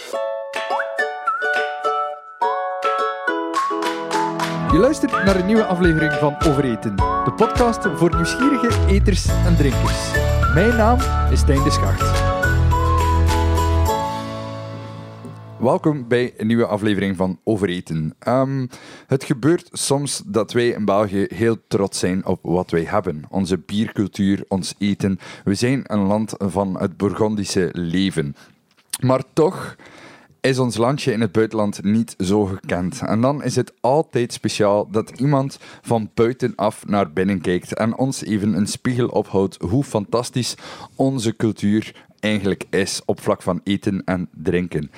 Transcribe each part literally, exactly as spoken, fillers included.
Je luistert naar een nieuwe aflevering van Overeten, de podcast voor nieuwsgierige eters en drinkers. Mijn naam is Stijn de Schacht. Welkom bij een nieuwe aflevering van Overeten. Um, het gebeurt soms dat wij in België heel trots zijn op wat wij hebben. Onze biercultuur, ons eten. We zijn een land van het Bourgondische leven. Maar toch is ons landje in het buitenland niet zo gekend. En dan is het altijd speciaal dat iemand van buitenaf naar binnen kijkt en ons even een spiegel ophoudt hoe fantastisch onze cultuur eigenlijk is op vlak van eten en drinken.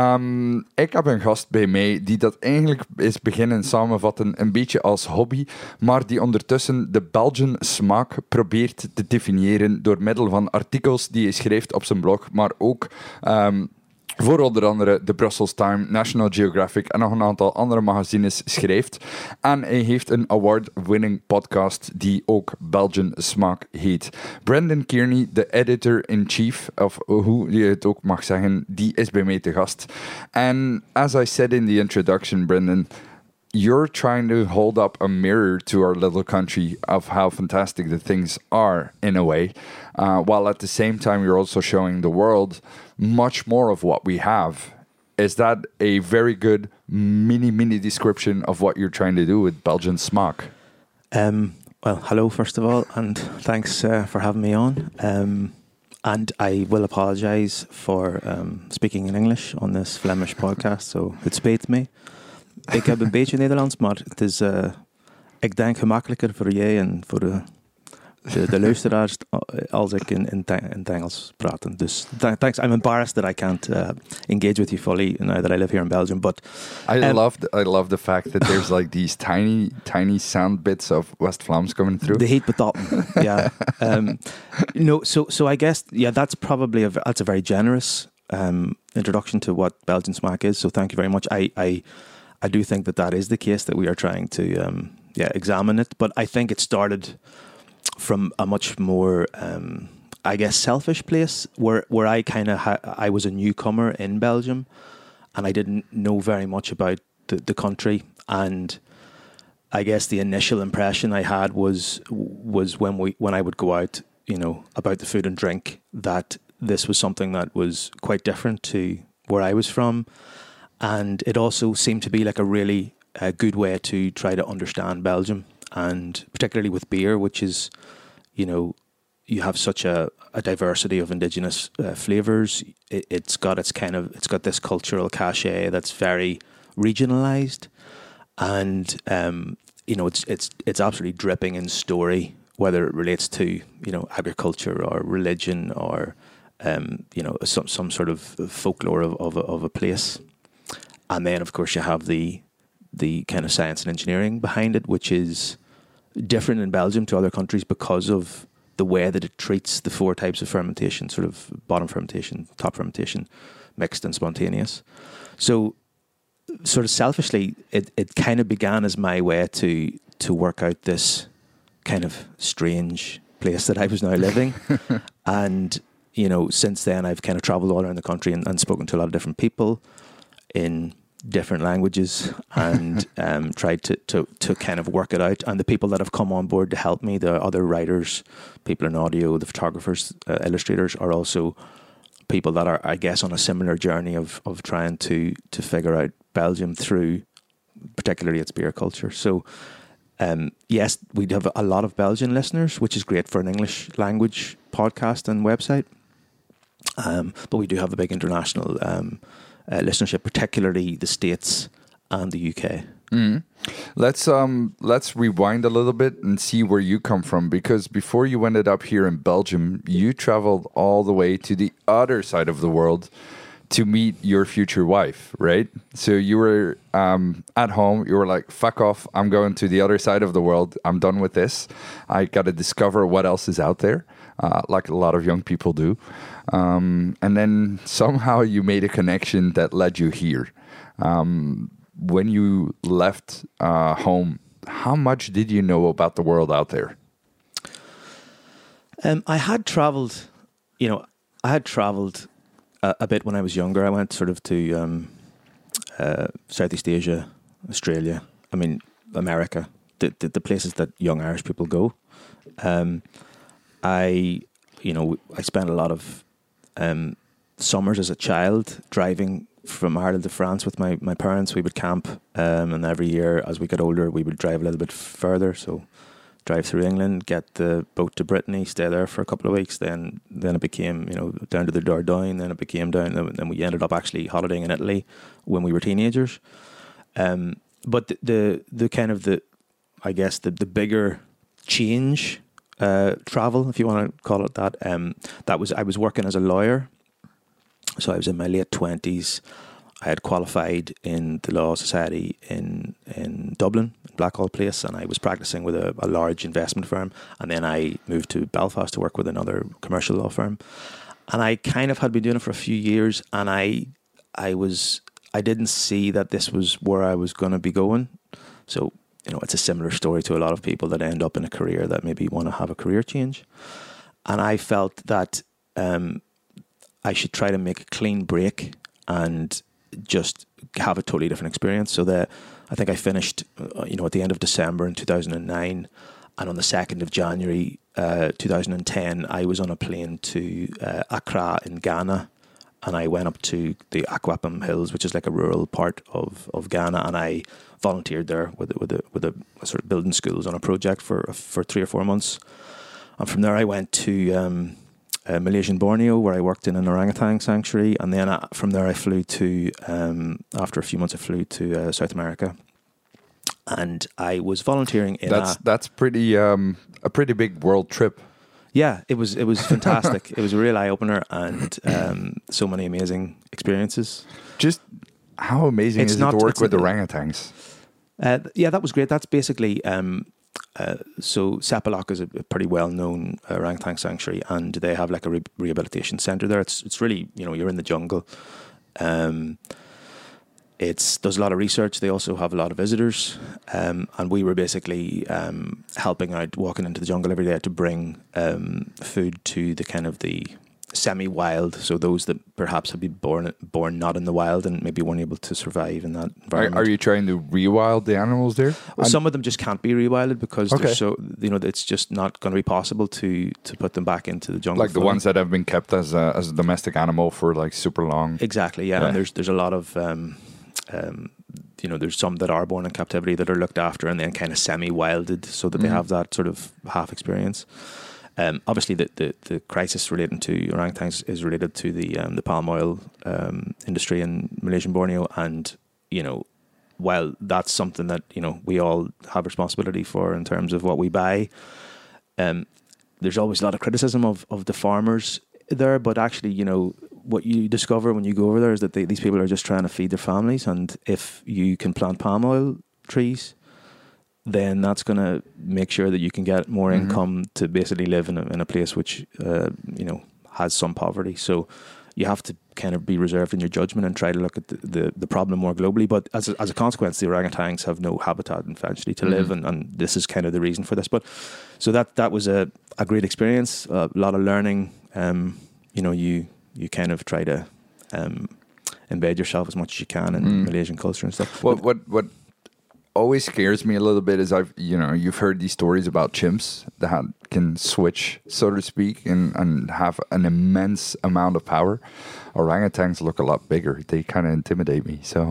Um, ik heb een gast bij mij die dat eigenlijk is beginnen samenvatten een beetje als hobby, maar die ondertussen de Belgian smaak probeert te definiëren door middel van artikels die hij schrijft op zijn blog, maar ook Um, voor onder andere de Brussels Times, National Geographic en nog een aantal andere magazines schrijft. En hij heeft een award-winning podcast die ook Belgian Smaak heet. Brendan Kearney, de editor-in-chief, of hoe je het ook mag zeggen, die is bij mij te gast. En as I said in the introduction, Brendan, you're trying to hold up a mirror to our little country of how fantastic the things are, in a way, uh, while at the same time you're also showing the world much more of what we have. Is that a very good mini, mini description of what you're trying to do with Belgian Smaak? Um, well, hello, first of all, and thanks uh, for having me on. Um, and I will apologise for um, speaking in English on this Flemish podcast, so het spijt me. Ik heb een beetje Nederlands, maar het is, uh, ik denk, gemakkelijker voor jij en voor de, de, de luisteraars als ik in, in, in het Engels praat. Dus thanks. I'm embarrassed that I can't uh, engage with you fully now that I live here in Belgium. But I um, love the, I love the fact that there's like these tiny tiny sound bits of West Vlaams coming through. The heat betatten, yeah. Um, no, so so I guess yeah, that's probably a that's a very generous um, introduction to what Belgian Smaak is. So thank you very much. I. I I do think that that is the case, that we are trying to um, yeah, examine it. But I think it started from a much more, um, I guess, selfish place where, where I kind of, ha- I was a newcomer in Belgium and I didn't know very much about the, the country. And I guess the initial impression I had was was when we when I would go out, you know, about the food and drink, that this was something that was quite different to where I was from. And it also seemed to be like a really uh, good way to try to understand Belgium, and particularly with beer, which is, you know, you have such a, a diversity of indigenous uh, flavors. It, it's got its kind of, it's got this cultural cachet that's very regionalized, and um, you know, it's it's it's absolutely dripping in story, whether it relates to, you know, agriculture or religion or um, you know, some some sort of folklore of of a, of a place. And then, of course, you have the the kind of science and engineering behind it, which is different in Belgium to other countries because of the way that it treats the four types of fermentation, sort of bottom fermentation, top fermentation, mixed and spontaneous. So, sort of selfishly, it, it kind of began as my way to to work out this kind of strange place that I was now living. And, you know, since then, I've kind of traveled all around the country and, and spoken to a lot of different people in different languages and um, tried to, to to kind of work it out. And the people that have come on board to help me, the other writers, people in audio, the photographers, uh, illustrators, are also people that are, I guess, on a similar journey of of trying to to figure out Belgium through particularly its beer culture. So um, yes, we have a lot of Belgian listeners, which is great for an English language podcast and website. Um, but we do have a big international um Uh, listenership, particularly the States and the U K. Mm. Let's um let's rewind a little bit and see where you come from, because before you ended up here in Belgium, you traveled all the way to the other side of the world to meet your future wife, right? So you were um, at home, you were like, fuck off, I'm going to the other side of the world, I'm done with this. I got to discover what else is out there, uh, like a lot of young people do. Um, and then somehow you made a connection that led you here. Um, when you left uh, home, how much did you know about the world out there? Um, I had traveled, you know, I had traveled a, a bit when I was younger. I went sort of to um, uh, Southeast Asia, Australia. I mean, America, the, the the places that young Irish people go. Um, I, you know, I spent a lot of um, summers as a child driving from Ireland to France with my, my parents. We would camp, um, and every year as we got older, we would drive a little bit further. So drive through England, get the boat to Brittany, stay there for a couple of weeks. Then then it became, you know, down to the Dordogne. Then it became down. Then we ended up actually holidaying in Italy when we were teenagers. Um, but the, the the kind of the, I guess the the bigger change, uh, travel, if you want to call it that. Um, that was I was working as a lawyer. So I was in my late twenties. I had qualified in the Law Society in in Dublin, Blackhall Place, and I was practicing with a, a large investment firm. And then I moved to Belfast to work with another commercial law firm. And I kind of had been doing it for a few years, and I I was I didn't see that this was where I was going to be going. So, you know, it's a similar story to a lot of people that end up in a career that maybe want to have a career change. And I felt that um, I should try to make a clean break and just have a totally different experience. So that I think I finished, uh, you know, at the end of December in two thousand nine, and on the second of January uh, two thousand ten, I was on a plane to uh, Accra in Ghana, and I went up to the Akwapam Hills, which is like a rural part of, of Ghana, and I volunteered there with with a, with a sort of building schools on a project for for three or four months, and from there I went to um, Uh, Malaysian Borneo, where I worked in an orangutan sanctuary, and then uh, from there I flew to, um, after a few months I flew to uh, South America, and I was volunteering in That's a... that's pretty um, a pretty big world trip. Yeah, it was it was fantastic. It was a real eye-opener, and um, so many amazing experiences. Just how amazing It's is not- it to work it's with a- orangutans? Uh, yeah, that was great. That's basically... Um, Uh, so Sepalak is a, a pretty well-known orangutan sanctuary, and they have like a re- rehabilitation centre there. It's it's really, you know, you're in the jungle. Um, it's there's a lot of research. They also have a lot of visitors, um, and we were basically um, helping out, walking into the jungle every day to bring um, food to the kind of the semi-wild, so those that perhaps have been born born not in the wild and maybe weren't able to survive in that Are, environment. are you trying to rewild the animals there? Well, some of them just can't be rewilded because Okay. they're so, you know, it's just not going to be possible to to put them back into the jungle. Like the fully. ones that have been kept as a, as a domestic animal for like super long. Exactly, yeah. Yeah. And there's there's a lot of, um, um, you know, there's some that are born in captivity that are looked after and then kind of semi-wilded so that they Mhm. have that sort of half experience. Um, obviously, the, the, the crisis relating to orangutans is related to the um, the palm oil um, industry in Malaysian Borneo, and you know, while that's something that you know we all have responsibility for in terms of what we buy, um, there's always a lot of criticism of of the farmers there. But actually, you know, what you discover when you go over there is that they, these people are just trying to feed their families, and if you can plant palm oil trees, then that's going to make sure that you can get more Mhm. income to basically live in a, in a place which, uh, you know, has some poverty. So you have to kind of be reserved in your judgment and try to look at the, the, the problem more globally. But as a, as a consequence, the orangutans have no habitat eventually to live, Mhm. and, and this is kind of the reason for this. But so that that was a, a great experience, a lot of learning. Um, you know, you you kind of try to um, embed yourself as much as you can in Mm. Malaysian culture and stuff. What But- what what always scares me a little bit is I've you know you've heard these stories about chimps that can switch, so to speak, and and have an immense amount of power. Orangutans look a lot bigger. They kind of intimidate me. So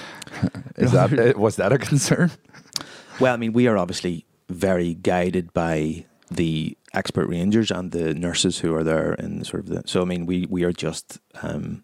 is that was that a concern? Well, I mean, we are obviously very guided by the expert rangers and the nurses who are there in sort of the. So, I mean, we we are just um,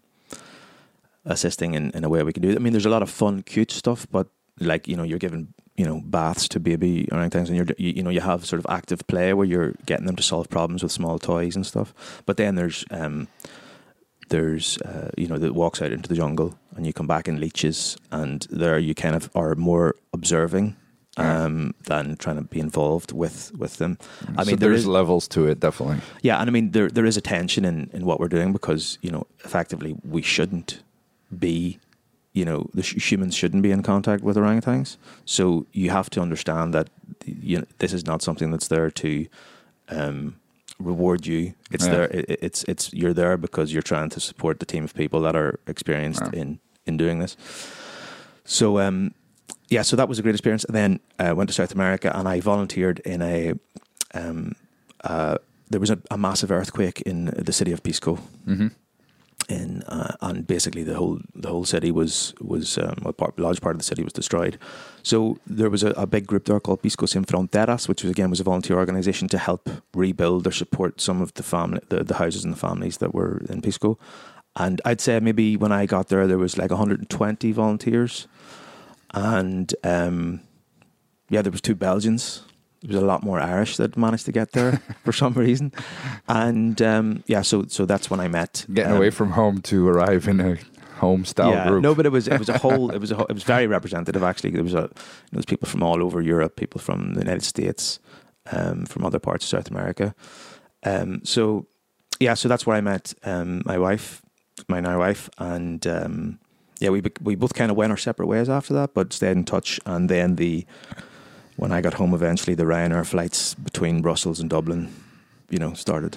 assisting in, in a way we can do it. I mean, there's a lot of fun, cute stuff, but like you know, you're giving you know baths to baby orangutans, and you're you, you know you have sort of active play where you're getting them to solve problems with small toys and stuff. But then there's um, there's uh, you know that walks out into the jungle, and you come back in leeches, and there you kind of are more observing um, than trying to be involved with with them. I So mean, there there's is, levels to it, definitely. yeah, and I mean there there is a tension in, in what we're doing because you know effectively we shouldn't be, you know, the sh- humans shouldn't be in contact with orangutans. So you have to understand that you know, this is not something that's there to um, reward you. It's Yeah. there. It, it's it's you're there because you're trying to support the team of people that are experienced Yeah. in in doing this. So um, yeah, so that was a great experience. And then I uh, went to South America and I volunteered in a. Um, uh, there was a, a massive earthquake in the city of Pisco. Mm-hmm. In uh, and basically the whole the whole city was was um, a part, large part of the city was destroyed. So there was a, a big group there called Pisco Sin Fronteras, which was again was a volunteer organisation to help rebuild or support some of the family the, the houses and the families that were in Pisco. And I'd say maybe when I got there, there was like one hundred twenty volunteers, and um, yeah, there was two Belgians. There was a lot more Irish that managed to get there for some reason, and um, yeah, so so that's when I met. Getting um, away from home to arrive in a home style yeah, group. no, but it was it was a whole it was a whole, it was very representative actually. There was a there was people from all over Europe, people from the United States, um, from other parts of South America. Um, so yeah, so that's where I met um, my wife, my now wife, and um, yeah, we we both kind of went our separate ways after that, but stayed in touch. And then the when I got home eventually, the Ryanair flights between Brussels and Dublin, you know, started.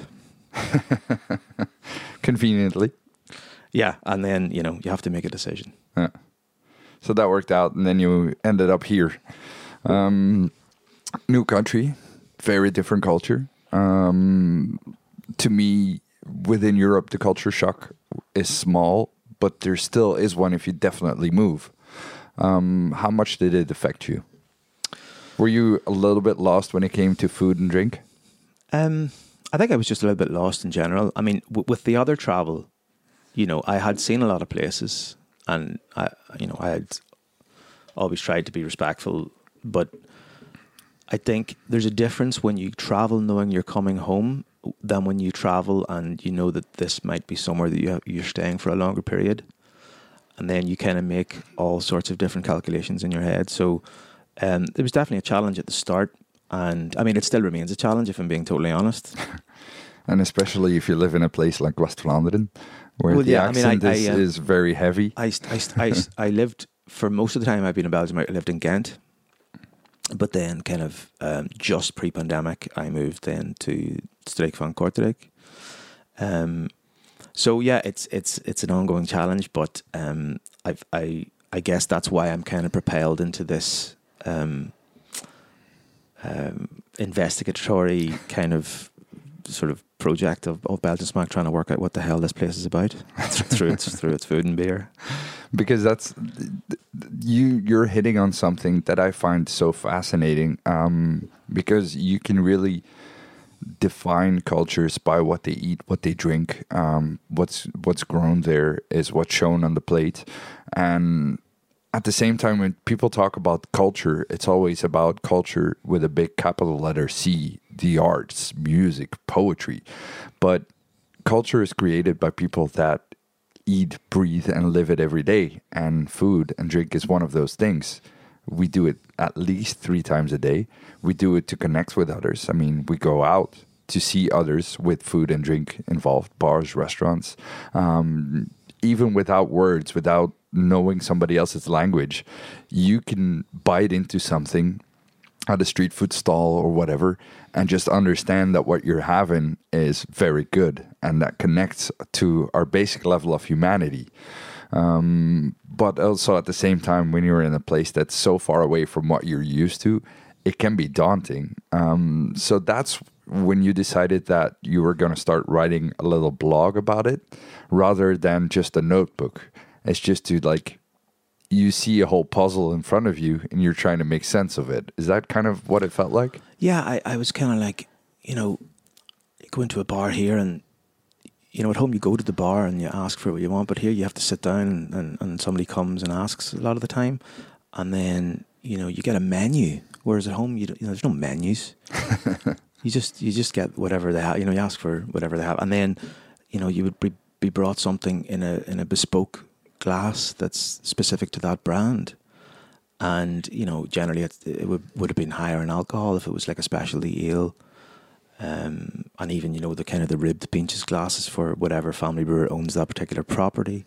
Conveniently. Yeah, and then, you know, you have to make a decision. Yeah. So that worked out, and then you ended up here. Um, new country, very different culture. Um, to me, within Europe, the culture shock is small, but there still is one if you definitely move. Um, how much did it affect you? Were you a little bit lost when it came to food and drink? Um, I think I was just a little bit lost in general. I mean, w- with the other travel, you know, I had seen a lot of places, and I, you know, I had always tried to be respectful. But I think there's a difference when you travel knowing you're coming home than when you travel and you know that this might be somewhere that you have, you're staying for a longer period, and then you kind of make all sorts of different calculations in your head. So um, it was definitely a challenge at the start. And I mean, it still remains a challenge if I'm being totally honest. And especially if you live in a place like West Vlaanderen, where Well, the yeah, I mean, accent I- is, I, uh, is very heavy. I, I, I, I lived, for most of the time I've been in Belgium, I lived in Ghent. But then kind of um, just pre-pandemic, I moved then to Streek van Kortrijk. Um, so yeah, it's it's it's an ongoing challenge, but um, I've, I I guess that's why I'm kind of propelled into this um, um, investigatory kind of sort of project of, of Belgian Smack, trying to work out what the hell this place is about through its through its food and beer. Because that's you you're hitting on something that I find so fascinating, um, because you can really define cultures by what they eat, what they drink, um, what's what's grown there is what's shown on the plate. And at the same time, when people talk about culture, it's always about culture with a big capital letter C, the arts, music, poetry. But culture is created by people that eat, breathe, and live it every day. And food and drink is one of those things. We do it at least three times a day. We do it to connect with others. I mean, we go out to see others with food and drink involved, bars, restaurants. Um, even without words, without knowing somebody else's language, you can bite into something at a street food stall or whatever and just understand that what you're having is very good and that connects to our basic level of humanity. Um, but also at the same time, when you're in a place that's so far away from what you're used to, it can be daunting. Um, so that's when you decided that you were going to start writing a little blog about it rather than just a notebook. It's just to like, you see a whole puzzle in front of you and you're trying to make sense of it. Is that kind of what it felt like? Yeah, I, I was kind of like, you know, you go into a bar here and, you know, at home you go to the bar and you ask for what you want, but here you have to sit down and, and, and somebody comes and asks a lot of the time. And then, you know, you get a menu, whereas at home, you, don't, you know, there's no menus. you just you just get whatever they have, you know, you ask for whatever they have. And then, you know, you would be, be brought something in a in a bespoke glass that's specific to that brand. And, you know, generally it, it would, would have been higher in alcohol if it was like a specialty ale. Um, and even, you know, the kind of the ribbed pinches glasses for whatever family brewer owns that particular property.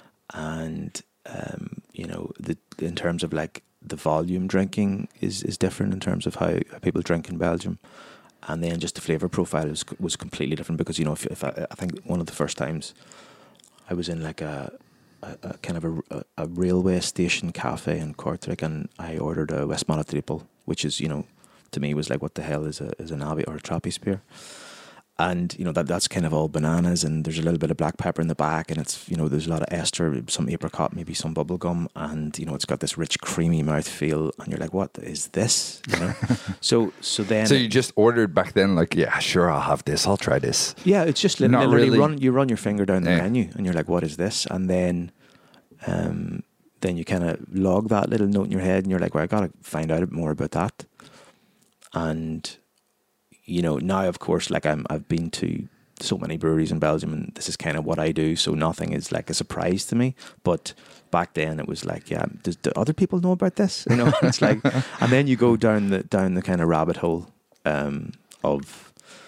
And, um, you know, the, in terms of like the volume drinking is, is different in terms of how, how people drink in Belgium. and then just the flavor profile was was completely different because you know if, if I, I think one of the first times I was in like a, a, a kind of a, a, a railway station cafe in Kortrijk, and I ordered a Westmalle triple, which is you know to me was like what the hell is a is an Abbey or a Trappist beer. And you know that that's kind of all bananas, and there's a little bit of black pepper in the back, and it's you know there's a lot of ester, some apricot, maybe some bubble gum, and you know it's got this rich, creamy mouthfeel, and you're like, what is this? You know, so so then So you just ordered back then, like, yeah, sure, I'll have this, I'll try this. yeah, it's just li- Not literally really. run you run your finger down the Yeah. menu, and you're like, what is this? And then, um, then you kind of log that little note in your head, and you're like, well, I gotta find out more about that, and you know now of course like I'm I've been to so many breweries in Belgium, and this is kind of what I do, so nothing is like a surprise to me. But back then it was like, yeah, does, do other people know about this? You know, it's like, and then you go down the down the kind of rabbit hole um, of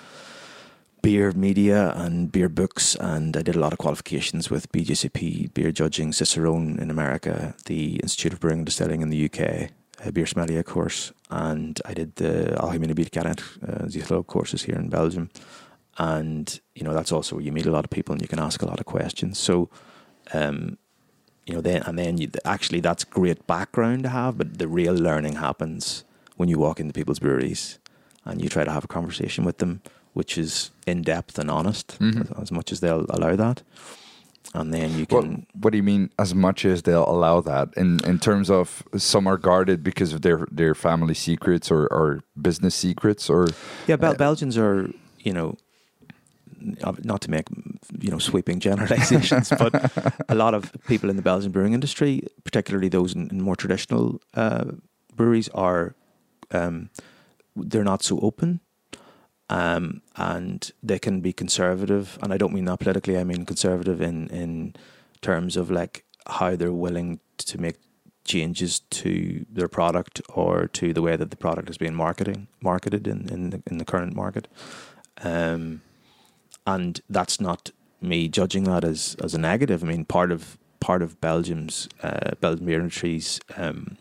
beer media and beer books, and I did a lot of qualifications with B J C P, beer judging, Cicerone in America, the Institute of Brewing and Distilling in the U K, a beer sommelier course, and I did the Algemene Bierkenner, uh, Ziegler courses here in Belgium. And, you know, that's also where you meet a lot of people and you can ask a lot of questions. So, um, you know, then, and then you, actually that's great background to have, but the real learning happens when you walk into people's breweries and you try to have a conversation with them, which is in-depth and honest, Mhm. as, as much as they'll allow that. And then you What, can... what do you mean, as much as they'll allow that? In in terms of some are guarded because of their, their family secrets or, or business secrets? Or Yeah, Bel- uh, Belgians are, you know, not to make, you know, sweeping generalizations, but a lot of people in the Belgian brewing industry, particularly those in, in more traditional uh, breweries, are um, they're not so open, um, and they can be conservative. And I don't mean that politically. I mean conservative in in terms of like how they're willing to make changes to their product or to the way that the product is being marketing marketed in in the, in the current market. Um, And that's not me judging that as, as a negative. I mean, part of part of Belgium's uh, Belgian beer industry's um,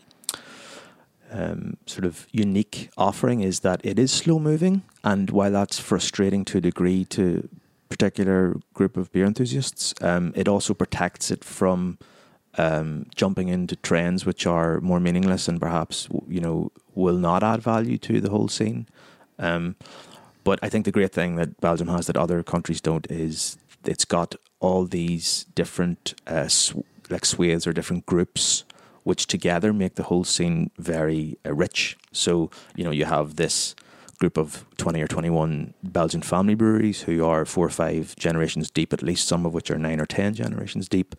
um, sort of unique offering is that it is slow moving, and while that's frustrating to a degree to a particular group of beer enthusiasts, um, it also protects it from um, jumping into trends which are more meaningless and perhaps you know will not add value to the whole scene. Um, But I think the great thing that Belgium has that other countries don't is it's got all these different uh, sw- like swathes or different groups, which together make the whole scene very uh, rich. So you know you have this group of twenty or twenty-one Belgian family breweries who are four or five generations deep, at least some of which are nine or ten generations deep,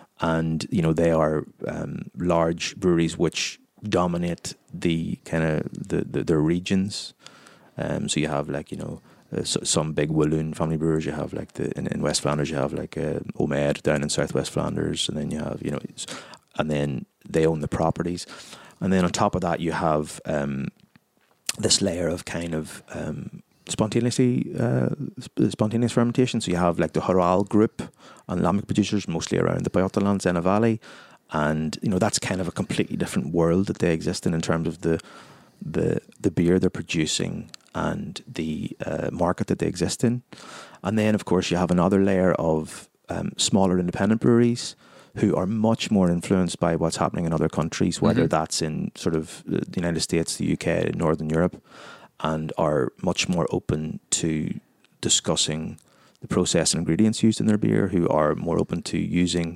and you know they are um, large breweries which dominate the kind of the, the their regions. Um, so you have like, you know, uh, so, some big Walloon family brewers. You have like the, in, in West Flanders, you have like uh, Omer down in Southwest Flanders. And then you have, you know, it's- and then they own the properties. And then on top of that, you have um, this layer of kind of um, spontaneously, uh, sp- spontaneous fermentation. So you have like the Horal group and lambic producers, mostly around the Pajottenland, Zena Valley. And, you know, that's kind of a completely different world that they exist in in terms of the, the, the beer they're producing and the uh, market that they exist in. And then, of course, you have another layer of um, smaller independent breweries who are much more influenced by what's happening in other countries, whether Mm-hmm. that's in sort of the United States, the U K, Northern Europe, and are much more open to discussing the process and ingredients used in their beer, who are more open to using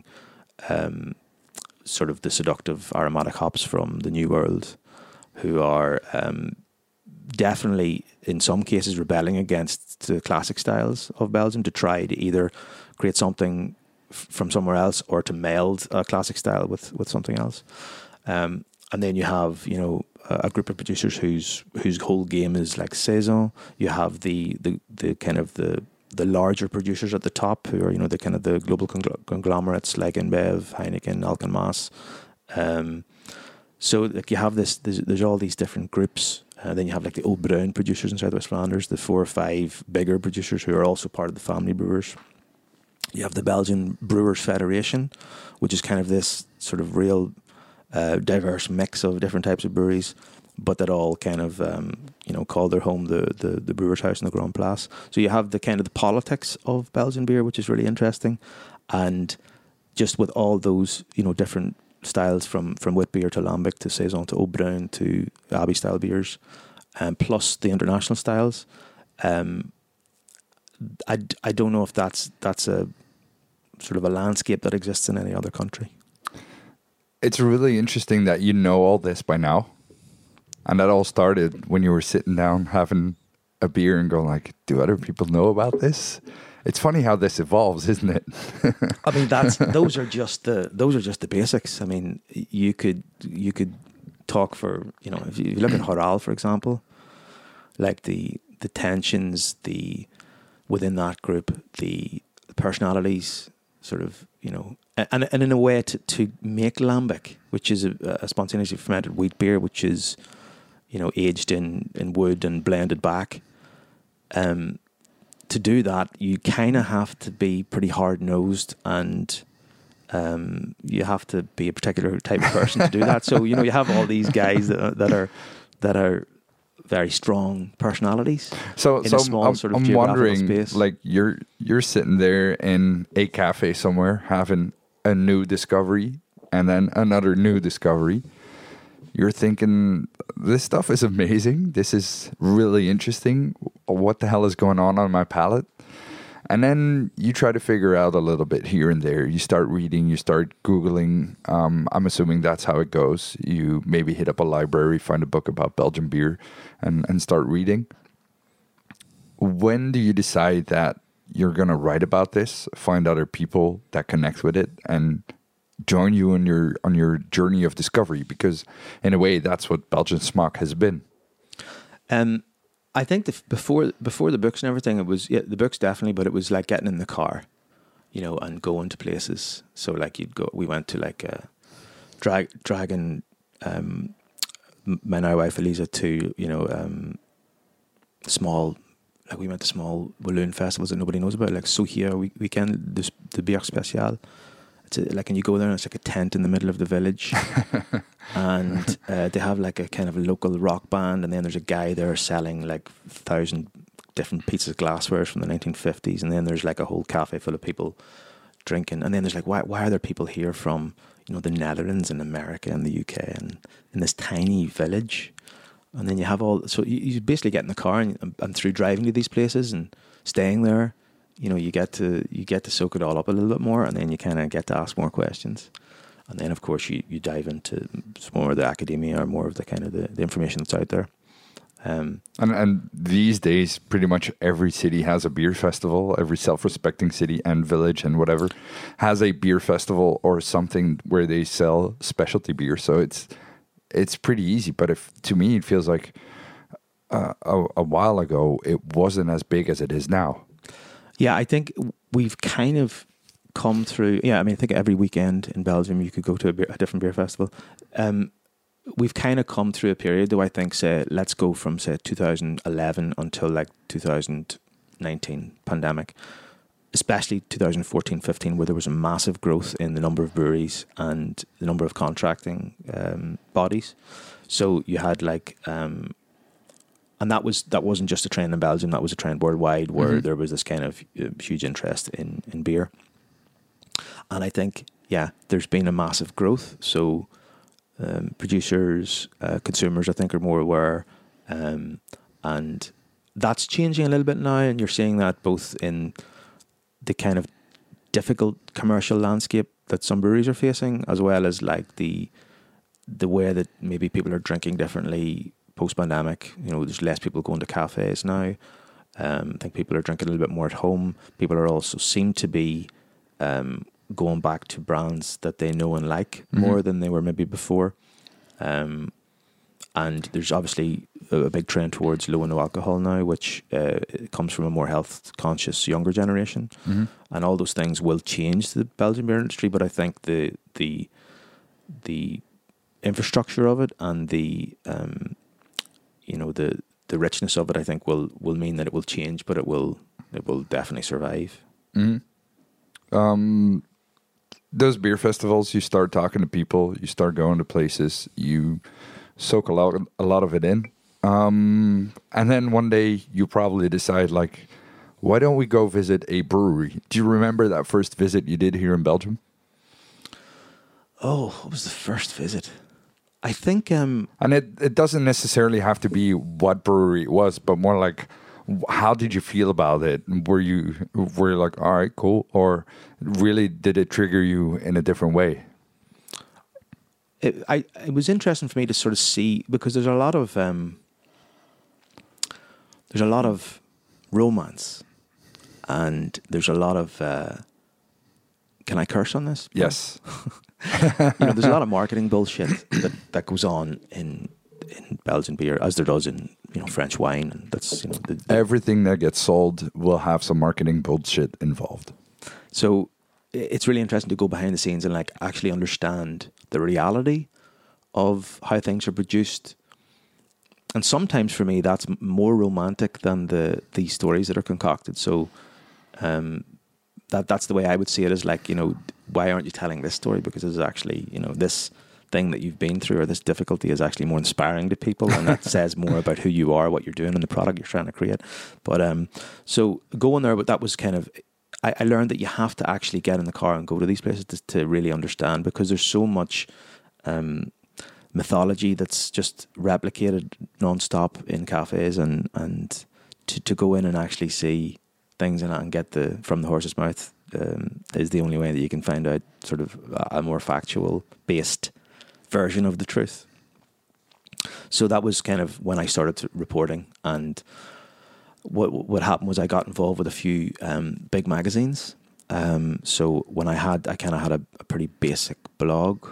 um, sort of the seductive aromatic hops from the New World, who are um, definitely, in some cases, rebelling against the classic styles of Belgium to try to either create something f- from somewhere else or to meld a classic style with, with something else. Um, and then you have, you know, a, a group of producers whose whose whole game is like saison. You have the the, the kind of the the larger producers at the top who are, you know, the kind of the global congl- conglomerates like InBev, Heineken, Alken-Maas. Um, so like you have this, there's, there's all these different groups. Uh, then you have like the Old Bruin producers in Southwest Flanders, the four or five bigger producers who are also part of the family brewers. You have the Belgian Brewers Federation, which is kind of this sort of real uh, diverse mix of different types of breweries. but that all kind of um, you know call their home the, the the Brewers House in the Grand Place. So you have the kind of the politics of Belgian beer, which is really interesting, and just with all those you know different styles from from wit beer to lambic to saison to Au Brun to Abbey style beers, and um, plus the international styles. Um, I, I don't know if that's that's a sort of a landscape that exists in any other country. It's really interesting that you know all this by now. And that all started when you were sitting down having a beer and going like, do other people know about this? It's funny how this evolves, isn't it? I mean, that's those are just the those are just the basics. I mean, you could you could talk for, you know, if you look at Horal, for example, like the the tensions, the within that group, the personalities, sort of, you know, and and in a way to, to make lambic, which is a, a spontaneously fermented wheat beer, which is, you know, aged in, in wood and blended back. Um, to do that, you kind of have to be pretty hard nosed, and um, you have to be a particular type of person to do that. So you know, you have all these guys that, that are that are very strong personalities. So, in so a small I'm, sort of I'm geographical wondering, space. like you're you're sitting there in a cafe somewhere having a new discovery, and then another new discovery. You're thinking, this stuff is amazing. This is really interesting. What the hell is going on on my palate? And then you try to figure out a little bit here and there. You start reading, you start Googling. Um, I'm assuming that's how it goes. You maybe hit up a library, find a book about Belgian beer, and, and start reading. When do you decide that you're going to write about this, find other people that connect with it, and join you on your on your journey of discovery? Because in a way, that's what Belgian Smaak has been. Um, I think the, before before the books and everything, it was yeah, the books definitely, but it was like getting in the car, you know, and going to places. So like you'd go, we went to like a drag dragon, um, my now wife Eliza to you know um, small. Like we went to small balloon festivals that nobody knows about, like Sohia we, weekend, the, the Bière Spéciale. It's a, like, and you go there and it's like a tent in the middle of the village, and uh, they have like a kind of a local rock band, and then there's a guy there selling like thousand different pieces of glassware from the nineteen fifties, and then there's like a whole cafe full of people drinking, and then there's like, why why are there people here from you know the Netherlands and America and the U K and in this tiny village? And then you have all, so you, you basically get in the car and, and through driving to these places and staying there, you know, you get to you get to soak it all up a little bit more, and then you kind of get to ask more questions. And then, of course, you, you dive into more of the academia or more of the kind of the, the information that's out there. Um, and, and these days, pretty much every city has a beer festival. Every self-respecting city and village and whatever has a beer festival or something where they sell specialty beer. So it's it's pretty easy. But if to me, it feels like uh, a, a while ago, it wasn't as big as it is now. Yeah, I think we've kind of come through. Yeah, I mean, I think every weekend in Belgium you could go to a, beer, a different beer festival. Um, we've kind of come through a period, though, I think, say, let's go from, say, two thousand eleven until like two thousand nineteen pandemic, especially two thousand fourteen fifteen, where there was a massive growth in the number of breweries and the number of contracting um, bodies. So you had like... Um, And that was that wasn't just a trend in Belgium. That was a trend worldwide, where mm-hmm. there was this kind of uh, huge interest in, in beer. And I think, yeah, there's been a massive growth. So um, producers, uh, consumers, I think, are more aware, um, and that's changing a little bit now. And you're seeing that both in the kind of difficult commercial landscape that some breweries are facing, as well as like the the way that maybe people are drinking differently. Post-pandemic, you know, there's less people going to cafes now. Um, I think people are drinking a little bit more at home. People are also seem to be um, going back to brands that they know and like mm-hmm. more than they were maybe before. Um, and there's obviously a, a big trend towards low and no alcohol now, which uh, comes from a more health-conscious younger generation. Mm-hmm. And all those things will change the Belgian beer industry, but I think the the the infrastructure of it and the um, you know, the, the richness of it, I think, will will mean that it will change, but it will it will definitely survive. Mm-hmm. Um, those beer festivals, you start talking to people, you start going to places, you soak a lot, a lot of it in. Um, and then one day you probably decide, like, why don't we go visit a brewery? Do you remember that first visit you did here in Belgium? Oh, what was the first visit? I think... Um, and it, it doesn't necessarily have to be what brewery it was, but more like, how did you feel about it? Were you, were you like, all right, cool? Or really did it trigger you in a different way? It, I, it was interesting for me to sort of see, because there's a lot of... Um, there's a lot of romance, and there's a lot of... Uh, can I curse on this? Yes. You know, there's a lot of marketing bullshit that, that goes on in in Belgian beer, as there does in, you know, French wine, and that's, you know, the, the everything that gets sold will have some marketing bullshit involved. So it's really interesting to go behind the scenes and like actually understand the reality of how things are produced. And sometimes for me, that's more romantic than the the stories that are concocted. So um, that that's the way I would see it, is like, you know, why aren't you telling this story? Because it's actually, you know, this thing that you've been through or this difficulty is actually more inspiring to people, and that says more about who you are, what you're doing, and the product you're trying to create. But um, so going there, but that was kind of, I, I learned that you have to actually get in the car and go to these places to, to really understand, because there's so much um, mythology that's just replicated nonstop in cafes, and and to, to go in and actually see things in it and get the from the horse's mouth um, is the only way that you can find out sort of a more factual based version of the truth. So that was kind of when I started to reporting, and what what happened was I got involved with a few um, big magazines. Um, so when I had, I kind of had a, a pretty basic blog,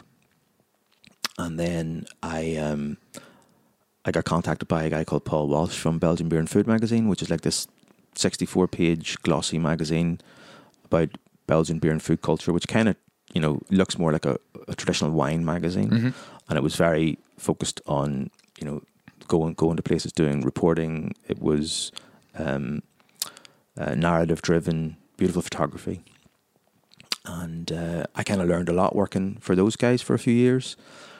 and then I um, I got contacted by a guy called Paul Walsh from Belgian Beer and Food magazine, which is like this sixty-four page glossy magazine about Belgian beer and food culture, which kind of, you know, looks more like a, a traditional wine magazine. Mm-hmm. And it was very focused on, you know, going going to places, doing reporting. It was um, uh, narrative driven, beautiful photography. And uh, I kind of learned a lot working for those guys for a few years.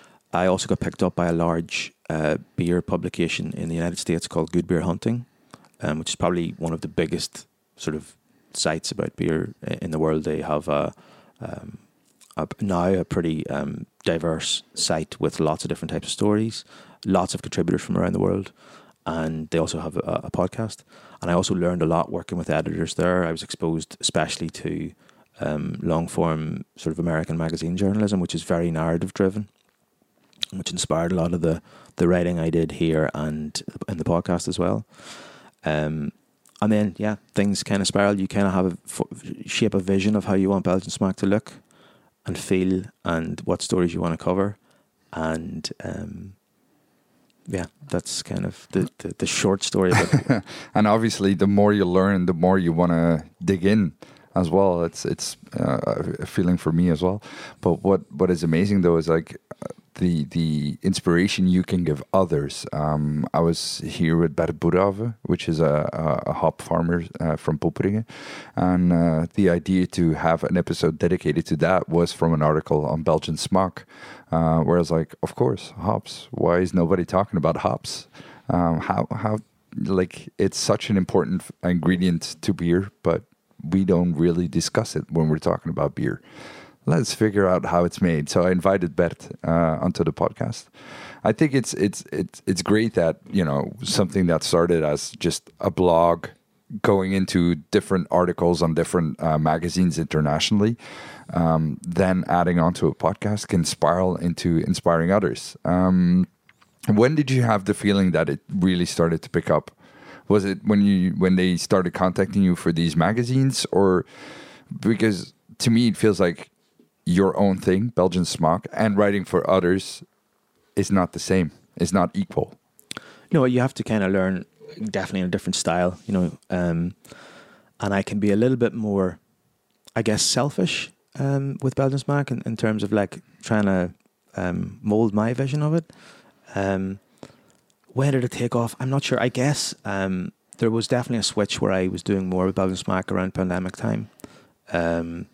I also got picked up by a large uh, beer publication in the United States called Good Beer Hunting, um, which is probably one of the biggest sort of sites about beer in the world. They have a, um, a now a pretty um, diverse site with lots of different types of stories, lots of contributors from around the world, and they also have a, a podcast. And I also learned a lot working with editors there. I was exposed especially to um, long form sort of American magazine journalism, which is very narrative driven, which inspired a lot of the the writing I did here and in the podcast as well. Um, And then, yeah, things kind of spiral. You kind of have a f- shape a vision of how you want Belgian Smack to look and feel, and what stories you want to cover. And um, yeah, that's kind of the, the, the short story of it. And obviously, the more you learn, the more you want to dig in as well. It's it's uh, a feeling for me as well. But what, what is amazing, though, is like the the inspiration you can give others. Um, I was here with Bert Boerhaave, which is a, a, a hop farmer uh, from Poperinge, and uh, the idea to have an episode dedicated to that was from an article on Belgian Smaak, uh, where I was like, of course, hops. Why is nobody talking about hops? Um, how how like it's such an important ingredient to beer, but we don't really discuss it when we're talking about beer. Let's figure out how it's made. So I invited Bert uh, onto the podcast. I think it's it's it's it's great that, you know, something that started as just a blog going into different articles on different uh, magazines internationally, um, then adding on to a podcast can spiral into inspiring others. Um, when did you have the feeling that it really started to pick up? Was it when you when they started contacting you for these magazines, or because to me it feels like your own thing, Belgian Smaak, and writing for others is not the same. It's not equal. No, you have to kind of learn definitely in a different style, you know. Um, and I can be a little bit more, I guess, selfish um, with Belgian Smaak in, in terms of like trying to um, mold my vision of it. Um, when did it take off? I'm not sure. I guess um, there was definitely a switch where I was doing more with Belgian Smaak around pandemic time. Um,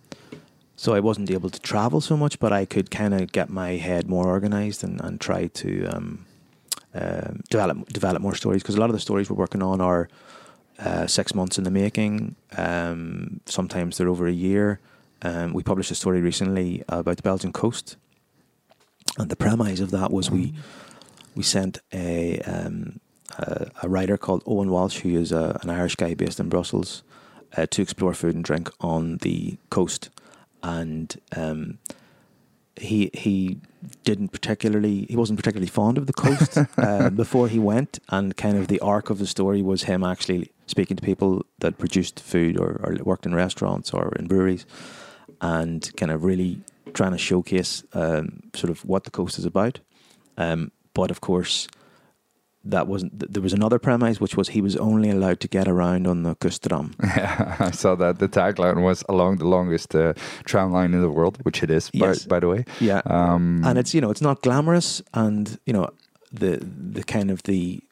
So I wasn't able to travel so much, but I could kind of get my head more organized and, and try to um, um, develop develop more stories, because a lot of the stories we're working on are uh, six months in the making. Um, sometimes they're over a year. Um, we published a story recently about the Belgian coast, and the premise of that was we we sent a um, a, a writer called Owen Walsh, who is a, an Irish guy based in Brussels, uh, to explore food and drink on the coast, and um, he he didn't particularly he wasn't particularly fond of the coast uh, before he went, and kind of the arc of the story was him actually speaking to people that produced food or, or worked in restaurants or in breweries, and kind of really trying to showcase um, sort of what the coast is about. Um, but of course, that wasn't. There was another premise, which was he was only allowed to get around on the Kustram. Yeah, I saw that. The tagline was along the longest uh, tram line in the world, which it is, Yes. by, by the way. Yeah, Um, and it's, you know, it's not glamorous, and you know the the kind of the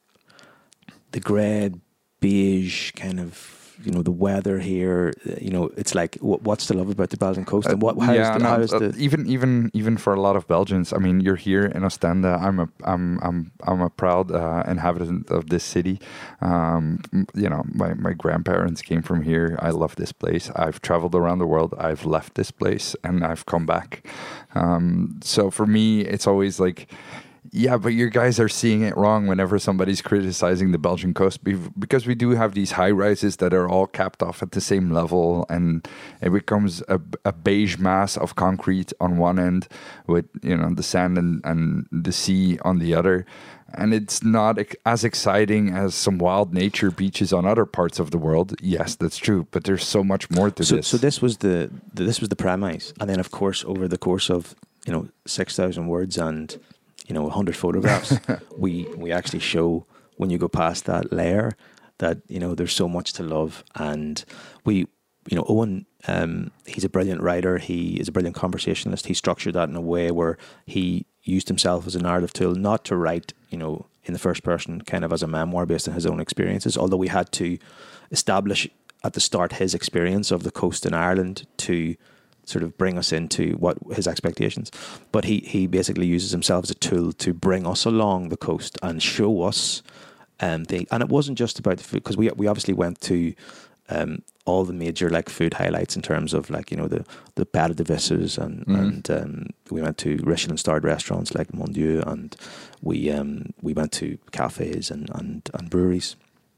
the grey beige kind of, you know, the weather here, you know, it's like wh- what's to love about the Belgian coast, and what how yeah, is the, no, how is uh, the even even even for a lot of Belgians, I mean, you're here in Ostende. I'm a I'm I'm I'm a proud uh, inhabitant of this city. Um, m- you know, my my grandparents came from here. I love this place. I've traveled around the world. I've left this place and I've come back. Um, so for me, it's always like, yeah, but you guys are seeing it wrong whenever somebody's criticizing the Belgian coast, bev- because we do have these high rises that are all capped off at the same level, and it becomes a, a beige mass of concrete on one end with, you know, the sand and, and the sea on the other. And it's not ex- as exciting as some wild nature beaches on other parts of the world. Yes, that's true, but there's so much more to so this. so this was the, the this was the premise, and then of course over the course of, you know, six thousand words and, you know, a hundred photographs, we we actually show, when you go past that layer, that, you know, there's so much to love. And we, you know, Owen, um, he's a brilliant writer. He is a brilliant conversationalist. He structured that in a way where he used himself as a narrative tool, not to write, you know, in the first person, kind of as a memoir based on his own experiences. Although we had to establish at the start his experience of the coast in Ireland to sort of bring us into what his expectations. But he he basically uses himself as a tool to bring us along the coast and show us um the, and it wasn't just about the food, because we we obviously went to um all the major like food highlights in terms of like, you know, the the Père de Visses and Mhm. and um we went to Michelin starred restaurants like Mon Dieu, and we um we went to cafes and and, and breweries.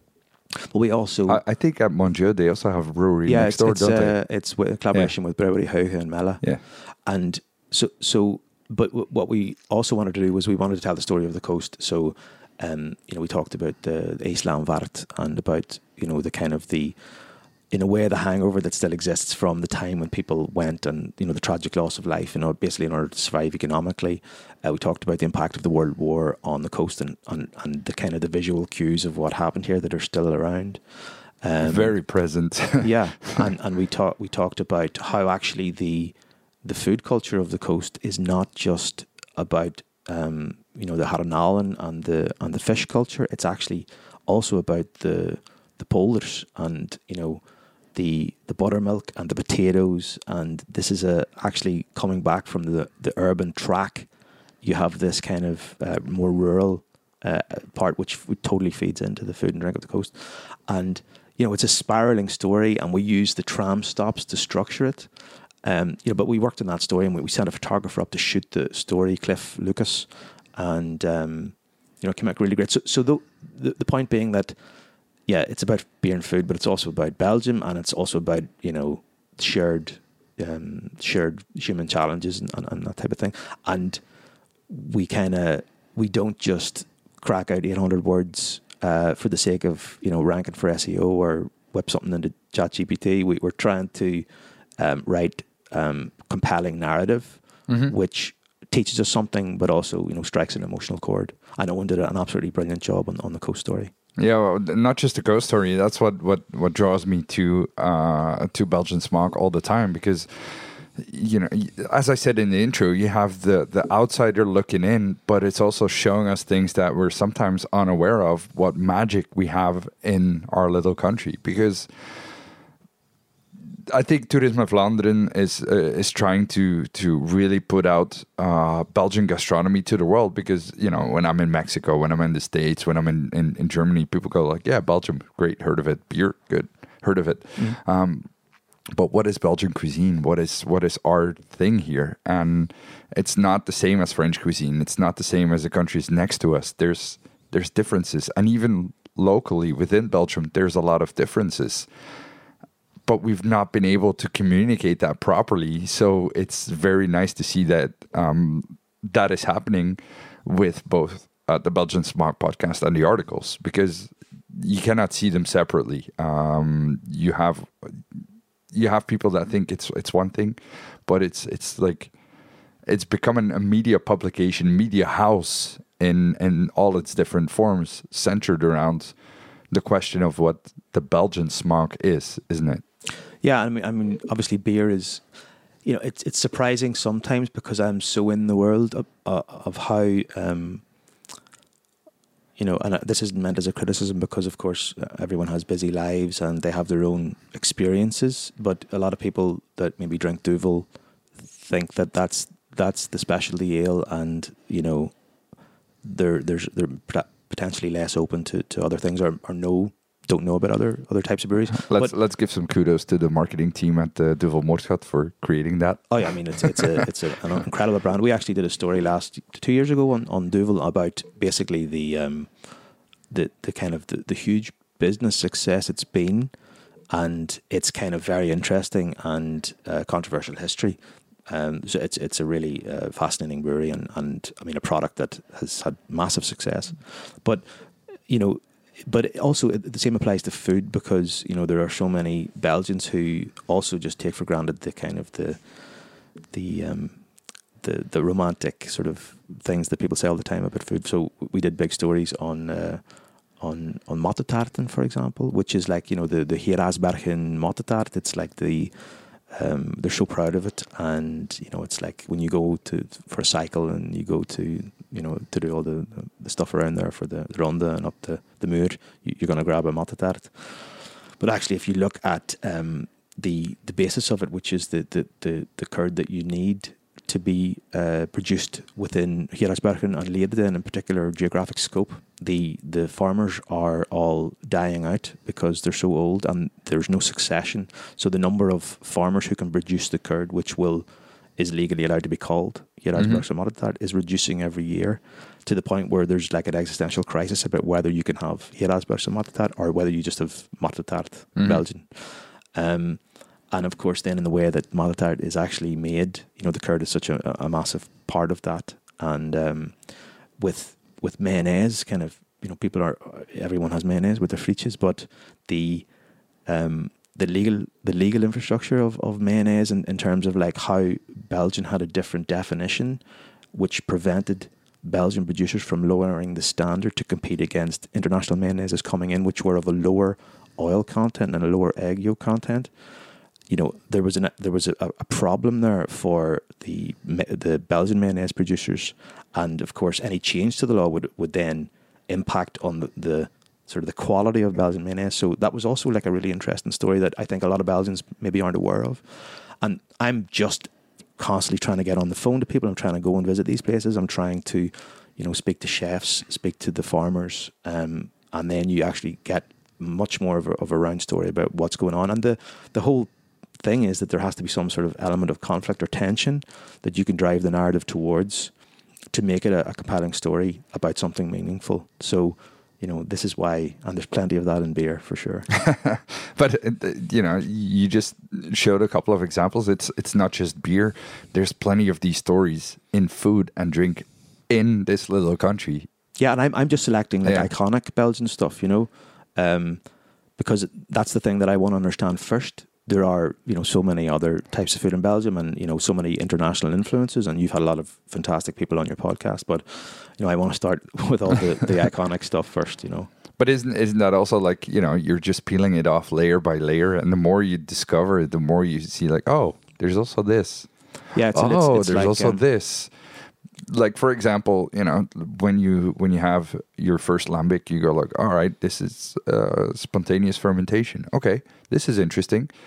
But we also I, I think at Mon Dieu, they also have a brewery yeah, next it's door, it's, don't uh, it's with a collaboration with Brewery Hauge and Mella. they? Yeah. And so, so, but w- what we also wanted to do was we wanted to tell the story of the coast. So, um, you know, we talked about the, the Islamvaart and about, you know, the kind of the, in a way, the hangover that still exists from the time when people went, and, you know, the tragic loss of life, you know, basically in order to survive economically. Uh, we talked about the impact of the World War on the coast, and, and, and the kind of the visual cues of what happened here that are still around. Um, Very present. yeah, and and we talked we talked about how actually the the food culture of the coast is not just about um, you know, the Haranalan and the and the fish culture. It's actually also about the the polders and, you know, the the buttermilk and the potatoes. And this is a actually coming back from the the urban track. You have this kind of uh, more rural uh, part, which f- totally feeds into the food and drink of the coast. And, you know, it's a spiraling story, and we use the tram stops to structure it. Um, you know, but we worked on that story, and we, we sent a photographer up to shoot the story, Cliff Lucas, and um, you know, it came out really great. So, so the, the the point being that, yeah, it's about beer and food, but it's also about Belgium, and it's also about, you know, shared um, shared human challenges and, and, and that type of thing. And we kind of we don't just crack out eight hundred words uh, for the sake of, you know, ranking for S E O or whip something into ChatGPT. We, we're trying to um, write um, compelling narrative, Mhm. which teaches us something, but also, you know, strikes an emotional chord. I know Owen did an absolutely brilliant job on, on the Coast Story. Yeah, well, not just the ghost story. That's what what what draws me to uh, to Belgian Smock all the time, because, you know, as I said in the intro, you have the the outsider looking in, but it's also showing us things that we're sometimes unaware of. What magic we have in our little country, because I think Toerisme Vlaanderen is uh, is trying to to really put out uh, Belgian gastronomy to the world, because, you know, when I'm in Mexico, when I'm in the States, when I'm in, in, in Germany, people go like, yeah, Belgium, great, heard of it. Beer, good, heard of it. Mm. Um, but what is Belgian cuisine? What is what is our thing here? And it's not the same as French cuisine. It's not the same as the countries next to us. There's there's differences, and even locally within Belgium, there's a lot of differences. But we've not been able to communicate that properly. So it's very nice to see that um, that is happening with both uh, the Belgian Smaak podcast and the articles, because you cannot see them separately. Um, you have you have people that think it's it's one thing, but it's it's like it's becoming a media publication, media house in in all its different forms, centered around the question of what the Belgian smaak is, isn't it? Yeah, I mean, I mean, obviously, beer is, you know, it's it's surprising sometimes, because I'm so in the world of, uh, of how, um, you know, and this isn't meant as a criticism, because, of course, everyone has busy lives and they have their own experiences. But a lot of people that maybe drink Duvel think that that's that's the specialty ale, and, you know, they're there's they're potentially less open to, to other things, or, or no. don't know about other other types of breweries. Let's but, let's give some kudos to the marketing team at the Duvel Moordgat for creating that. Oh yeah, I mean it's it's a it's a, an incredible brand. We actually did a story last two years ago on, on Duvel about basically the um the the kind of the, the huge business success it's been, and it's kind of very interesting and uh, controversial history. Um, so it's it's a really uh, fascinating brewery, and and I mean a product that has had massive success, but you know. But also, the same applies to food, because, you know, there are so many Belgians who also just take for granted the kind of the the um, the the romantic sort of things that people say all the time about food. So we did big stories on uh, on on mottetaarten, for example, which is like, you know, the the Geraasbergen mottetaart. It's like the um, they're so proud of it, and, you know, it's like when you go to for a cycle and you go to, you know, to do all the, the stuff around there for the, the ronde and up the, the muur, you, you're going to grab a mottetaart. But actually, if you look at um, the the basis of it, which is the, the, the, the curd that you need to be uh, produced within Geraasbergen and Leeuwarden in particular geographic scope, the the farmers are all dying out because they're so old and there's no succession. So the number of farmers who can produce the curd, which will is legally allowed to be called Geraasbergse mottetaart, is reducing every year, to the point where there's like an existential crisis about whether you can have Geraasbergse mottetaart or whether you just have mottetaart mm-hmm. Belgian. Um, and of course, then in the way that mottetaart is actually made, you know, the curd is such a, a massive part of that. And um, with with mayonnaise, kind of, you know, people are everyone has mayonnaise with their frietjes, but the um, the legal the legal infrastructure of, of mayonnaise in, in terms of like how Belgium had a different definition, which prevented Belgian producers from lowering the standard to compete against international mayonnaises coming in, which were of a lower oil content and a lower egg yolk content. You know, there was an there was a, a problem there for the the Belgian mayonnaise producers, and of course, any change to the law would would then impact on the, the sort of the quality of Belgian mayonnaise. So that was also like a really interesting story that I think a lot of Belgians maybe aren't aware of. And I'm just constantly trying to get on the phone to people. I'm trying to go and visit these places. I'm trying to, you know, speak to chefs, speak to the farmers, um, and then you actually get much more of a, of a round story about what's going on. And the the whole thing is that there has to be some sort of element of conflict or tension that you can drive the narrative towards to make it a, a compelling story about something meaningful. So, you know, this is why, and there's plenty of that in beer for sure. But, you know, you just showed a couple of examples. It's it's not just beer. There's plenty of these stories in food and drink in this little country. Yeah, and I'm I'm just selecting like yeah. iconic Belgian stuff, you know, um, because that's the thing that I want to understand first. There are, you know, so many other types of food in Belgium, and, you know, so many international influences, and you've had a lot of fantastic people on your podcast, but, you know, I want to start with all the, the iconic stuff first, you know. But isn't isn't that also like, you know, you're just peeling it off layer by layer, and the more you discover, the more you see like, oh, there's also this. Yeah, it's, oh, it's, it's there's like, also um, this. Like, for example, you know, when you when you have your first lambic, you go like, all right, this is uh, spontaneous fermentation. Okay, this is interesting.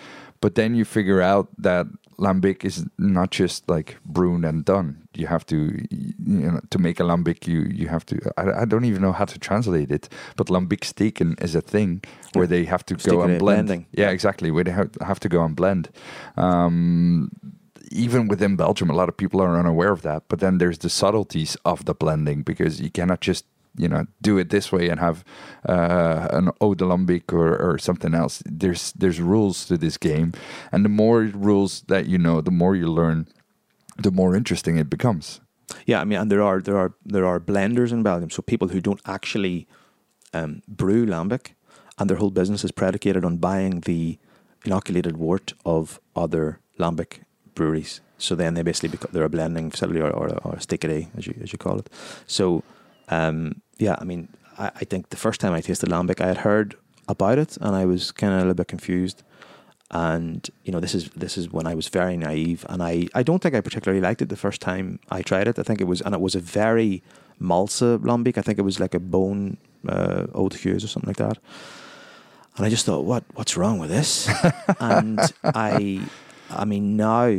But then you figure out that lambic is not just like brewed and done. You have to, you know, to make a lambic, you you have to. I, I don't even know how to translate it, but lambic steken is a thing where they have to go and blend. Blending. Yeah, exactly. Where they have, have to go and blend. Um, even within Belgium, a lot of people are unaware of that. But then there's the subtleties of the blending, because you cannot just, you know, do it this way and have uh, an eau de lambic or, or something else. There's there's rules to this game, and the more rules that you know, the more you learn, the more interesting it becomes. Yeah, I mean, and there are there are there are blenders in Belgium, so people who don't actually um, brew lambic, and their whole business is predicated on buying the inoculated wort of other lambic breweries. So then they basically become, they're a blending facility, or, or, or a stickery, as you as you call it. So um, yeah, I mean, I, I think the first time I tasted lambic, I had heard about it, and I was kind of a little bit confused. And you know, this is this is when I was very naive, and I, I don't think I particularly liked it the first time I tried it. I think it was, and it was a very malsa lambic. I think it was like a bone uh, Eau de Gueuze or something like that. And I just thought, what what's wrong with this? And I, I mean, now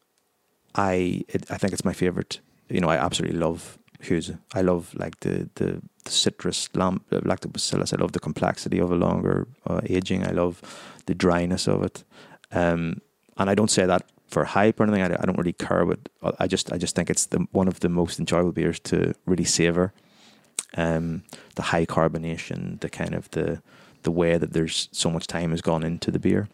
I it, I think it's my favorite. You know, I absolutely love Gueuze. I love like the the, the citrus lamb, lactobacillus. I love the complexity of a longer uh, aging. I love the dryness of it, um, and I don't say that for hype or anything. I, I don't really care, but I just I just think it's the one of the most enjoyable beers to really savor. Um, the high carbonation, the kind of the the way that there's so much time has gone into the beer.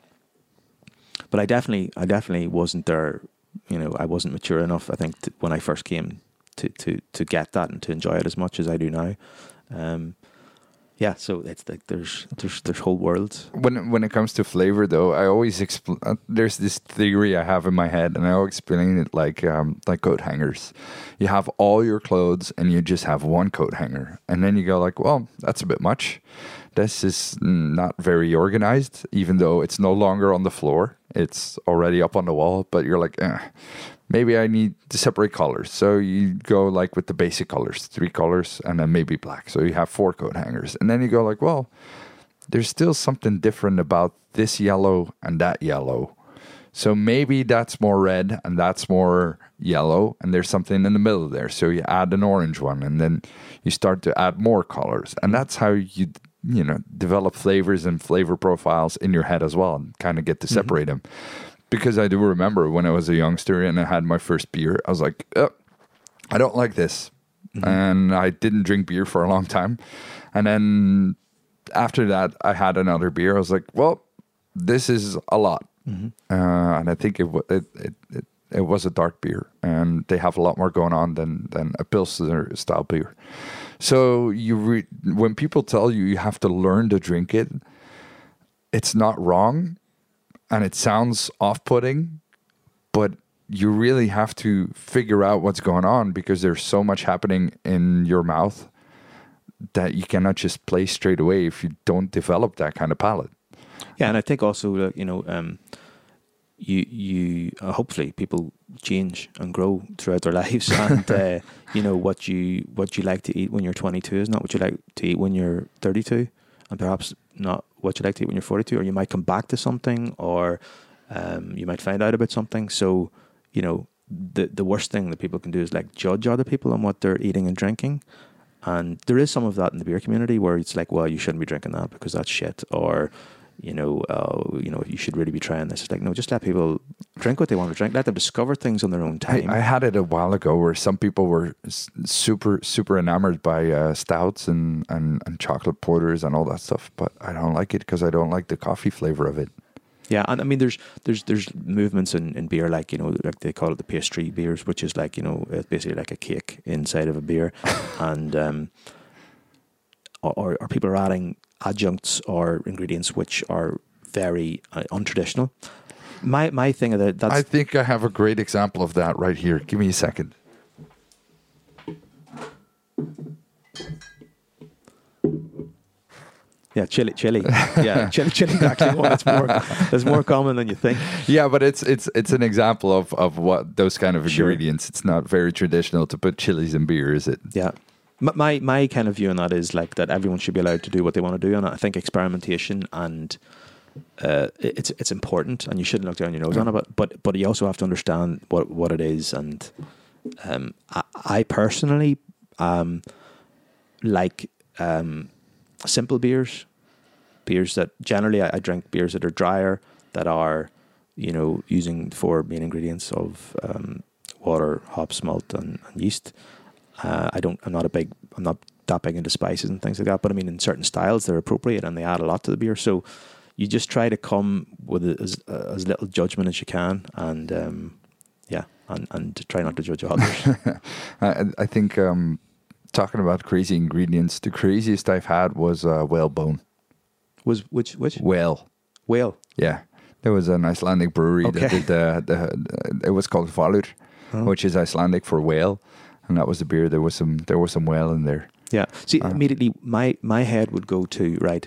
But I definitely I definitely wasn't there. You know, I wasn't mature enough, I think, to, when I first came to, to to get that and to enjoy it as much as I do now. Um, Yeah, so it's like there's there's there's whole worlds. When when it comes to flavor, though, I always expl- uh, there's this theory I have in my head, and I always explain it like um, like coat hangers. You have all your clothes, and you just have one coat hanger, and then you go like, well, that's a bit much. This is not very organized, even though it's no longer on the floor. It's already up on the wall, but you're like, eh, maybe I need to separate colors. So you go like with the basic colors, three colors, and then maybe black. So you have four coat hangers. And then you go like, well, there's still something different about this yellow and that yellow. So maybe that's more red and that's more yellow, and there's something in the middle there. So you add an orange one, and then you start to add more colors. And that's how you, you know, develop flavors and flavor profiles in your head as well, and kind of get to separate mm-hmm. them. Because I do remember when I was a youngster and I had my first beer, I was like, oh, I don't like this. Mm-hmm. And I didn't drink beer for a long time. And then after that, I had another beer. I was like, well, this is a lot. Mm-hmm. Uh, and I think it, it, it, it, it was a dark beer. And they have a lot more going on than, than a Pilsner style beer. So you re- when people tell you you have to learn to drink it, it's not wrong. And it sounds off-putting, but you really have to figure out what's going on, because there's so much happening in your mouth that you cannot just play straight away if you don't develop that kind of palate. Yeah, and I think also, uh, you know, um, you you uh, hopefully people change and grow throughout their lives, and uh, you know what you what you like to eat when you're twenty-two is not what you like to eat when you're thirty-two, and perhaps not what you like to eat when you're forty-two, or you might come back to something, or um, you might find out about something. So, you know, the the worst thing that people can do is like judge other people on what they're eating and drinking. And there is some of that in the beer community where it's like, well, you shouldn't be drinking that because that's shit, or you know, uh, you know, you should really be trying this. It's like, no, just let people drink what they want to drink. Let them discover things on their own time. I, I had it a while ago where some people were super, super enamored by uh, stouts and, and, and chocolate porters and all that stuff, but I don't like it because I don't like the coffee flavor of it. Yeah, and I mean, there's there's there's movements in, in beer, like, you know, like they call it the pastry beers, which is like, you know, it's basically like a cake inside of a beer, and um, or or people are adding adjuncts or ingredients which are very uh, untraditional. My my thing of that, that's I think I have a great example of that right here. Give me a second. Yeah, chili, chili. Yeah, chili, chili is actually one that's more that's more common than you think. Yeah, but it's it's it's an example of, of what those kind of Sure. ingredients. It's not very traditional to put chilies in beer, is it? Yeah. My my kind of view on that is like that everyone should be allowed to do what they want to do, and I think experimentation and uh, it's it's important, and you shouldn't look down your nose on it. But but but you also have to understand what what it is. And um, I, I personally um like um simple beers, beers that generally I, I drink beers that are drier, that are, you know, using four main ingredients of um, water, hops, malt, and, and yeast. Uh, I don't. I'm not a big. I'm not that big into spices and things like that. But I mean, in certain styles, they're appropriate and they add a lot to the beer. So you just try to come with as as little judgment as you can, and um, yeah, and and try not to judge others. I, I think um, talking about crazy ingredients, the craziest I've had was uh, whalebone. Was which which Whale. Whale. Yeah, there was an Icelandic brewery Okay. that did the, the, the it was called Valur, Oh. which is Icelandic for whale, and that was the beer. There was some there was some whale in there. Yeah. See, Uh. immediately my my head would go to, right,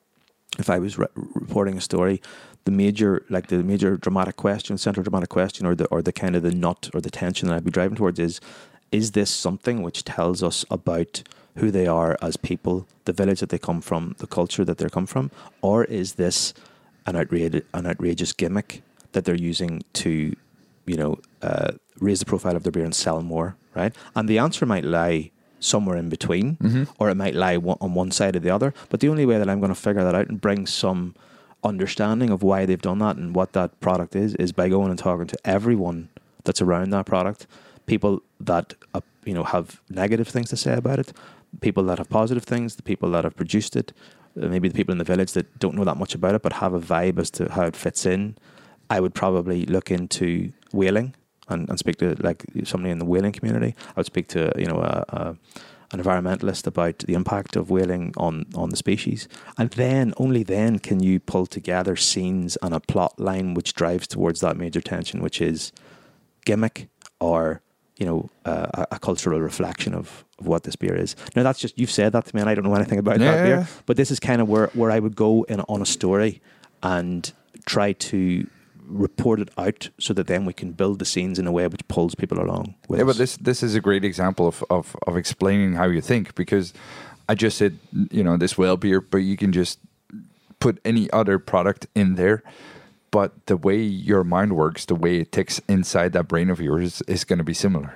if I was re- reporting a story, the major like the major dramatic question, central dramatic question, or the or the kind of the nut or the tension that I'd be driving towards is, is this something which tells us about who they are as people, the village that they come from, the culture that they come from, or is this an outrageous an outrageous gimmick that they're using to, you know, uh, raise the profile of their beer and sell more, right? And the answer might lie somewhere in between, Mm-hmm. or it might lie one, on one side or the other. But the only way that I'm going to figure that out and bring some understanding of why they've done that and what that product is, is by going and talking to everyone that's around that product, people that uh, you know have negative things to say about it, people that have positive things, the people that have produced it, uh, maybe the people in the village that don't know that much about it but have a vibe as to how it fits in. I would probably look into whaling and, and speak to like somebody in the whaling community. I would speak to you know a, a, an environmentalist about the impact of whaling on, on the species, and then only then can you pull together scenes and a plot line which drives towards that major tension, which is gimmick or you know uh, a, a cultural reflection of, of what this beer is. Now that's just you've said that to me, and I don't know anything about Yeah, that beer, yeah. but this is kind of where where I would go in on a story and try to report it out so that then we can build the scenes in a way which pulls people along with Yeah, us. but this this is a great example of, of, of explaining how you think, because I just said, you know, this whale beer, but you can just put any other product in there. But the way your mind works, the way it ticks inside that brain of yours is going to be similar.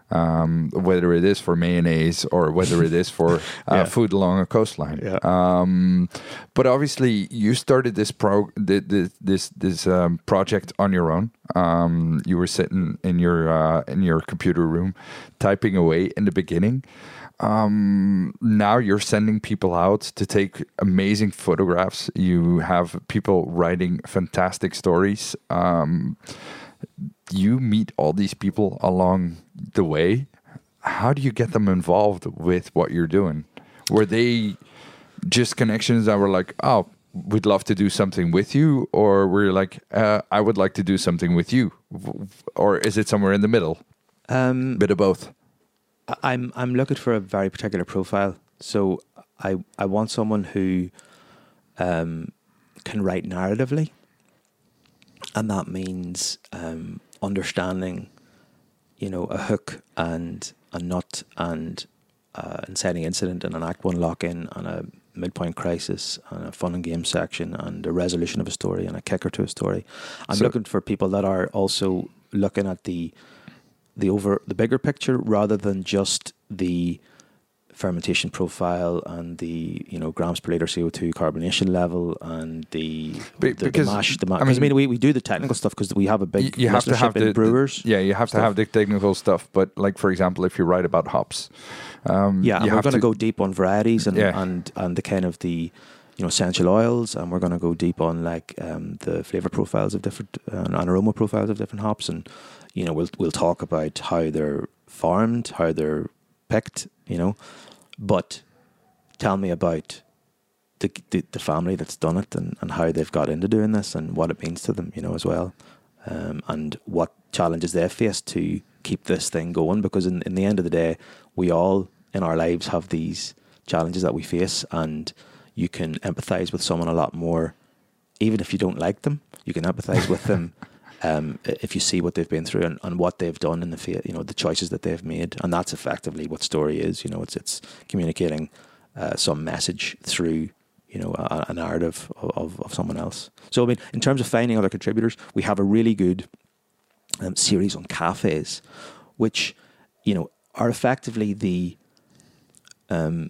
Um, whether it is for mayonnaise or whether it is for uh, Yeah. food along a coastline. Yeah. Um, but obviously, you started this pro thi- thi- this this um, project on your own. Um, you were sitting in your uh, in your computer room, typing away in the beginning. Um, now you're sending people out to take amazing photographs. You have people writing fantastic stories. Um, you meet all these people along the way. How do you get them involved with what you're doing? Were they just connections that were like, oh, we'd love to do something with you? Or were you like, uh, I would like to do something with you? Or is it somewhere in the middle? Um, Bit of both. I- I'm I'm looking for a very particular profile. So I I want someone who um, can write narratively, and that means um, understanding, you know, a hook and a nut and uh, inciting incident and an act one lock in and a midpoint crisis and a fun and game section and a resolution of a story and a kicker to a story. I'm So- looking for people that are also looking at the the over the bigger picture rather than just the fermentation profile and the you know grams per liter C O two carbonation level and the Be- the, because, the mash the mash. I I mean, mean- we, we do the technical stuff because we have a big You, you have to have listenership in the brewers. the- yeah, you have to stuff. have the technical stuff. But like, for example, if you write about hops, um, Yeah, and you we're have going to to go deep on varieties and, Yeah. and and the kind of the you know essential oils, and we're going to go deep on like um, the flavor profiles of different uh, and aroma profiles of different hops, and you know we'll we'll talk about how they're farmed, how they're picked, you know, but tell me about the the, the family that's done it and, and how they've got into doing this and what it means to them, you know, as well, um, and what challenges they've faced to keep this thing going, because in, in the end of the day, we all in our lives have these challenges that we face, and you can empathize with someone a lot more, even if you don't like them. You can empathize with them um, if you see what they've been through and, and what they've done in the fa- you know the choices that they've made, and that's effectively what story is. You know, it's it's communicating uh, some message through you know, a, a narrative of, of someone else. So, I mean, in terms of finding other contributors, we have a really good um, series on cafes, which, you know, are effectively the, um,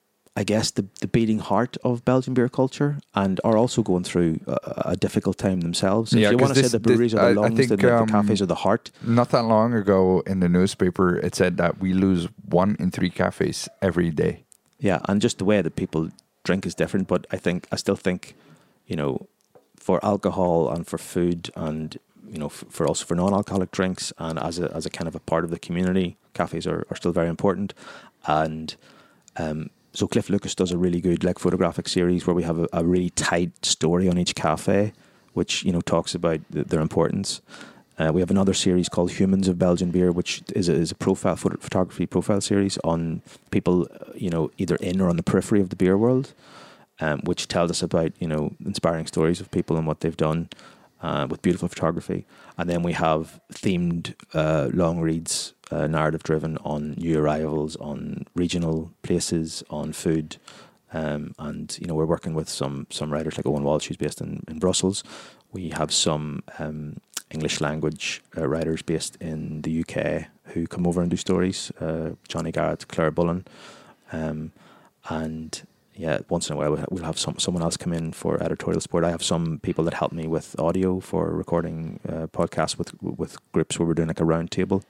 I guess, the, the beating heart of Belgian beer culture, and are also going through a, a difficult time themselves. Yeah, if you want to this, say the breweries this, are the I, lungs, I think, then um, the cafes are the heart. Not that long ago in the newspaper, it said that we lose one in three cafes every day. Yeah, and just the way that people drink is different, but I think I still think, you know, for alcohol and for food and, you know, f- for also for non-alcoholic drinks and as a as a kind of a part of the community, cafes are, are still very important. And um, so Cliff Lucas does a really good like photographic series where we have a, a really tight story on each cafe, which, you know, talks about th- their importance. Uh, we have another series called Humans of Belgian Beer, which is a, is a profile photo, photography profile series on people, uh, you know, either in or on the periphery of the beer world, um, which tells us about, you know, inspiring stories of people and what they've done uh, with beautiful photography. And then we have themed uh, long reads, uh, narrative driven on new arrivals, on regional places, on food. Um, and, you know, we're working with some some writers like Owen Walsh, who's based in, in Brussels. We have some um, English language uh, writers based in the U K who come over and do stories. Uh, Johnny Garrett, Claire Bullen, um, and yeah, once in a while we'll have some someone else come in for editorial support. I have some people that help me with audio for recording uh, podcasts with with groups where we're doing like a round table.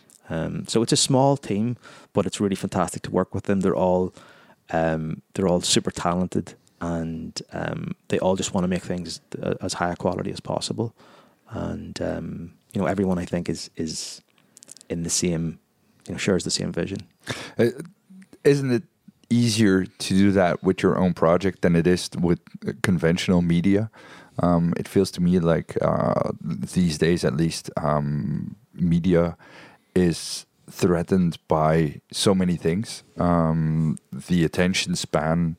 Um, so it's a small team, but it's really fantastic to work with them. They're all um, they're all super talented, and um, they all just want to make things as high a quality as possible. And um, you know, everyone I think is is in the same, you know, shares the same vision. Uh, isn't it easier to do that with your own project than it is with conventional media? Um, it feels to me like uh, these days, at least, um, media is threatened by so many things. Um, the attention span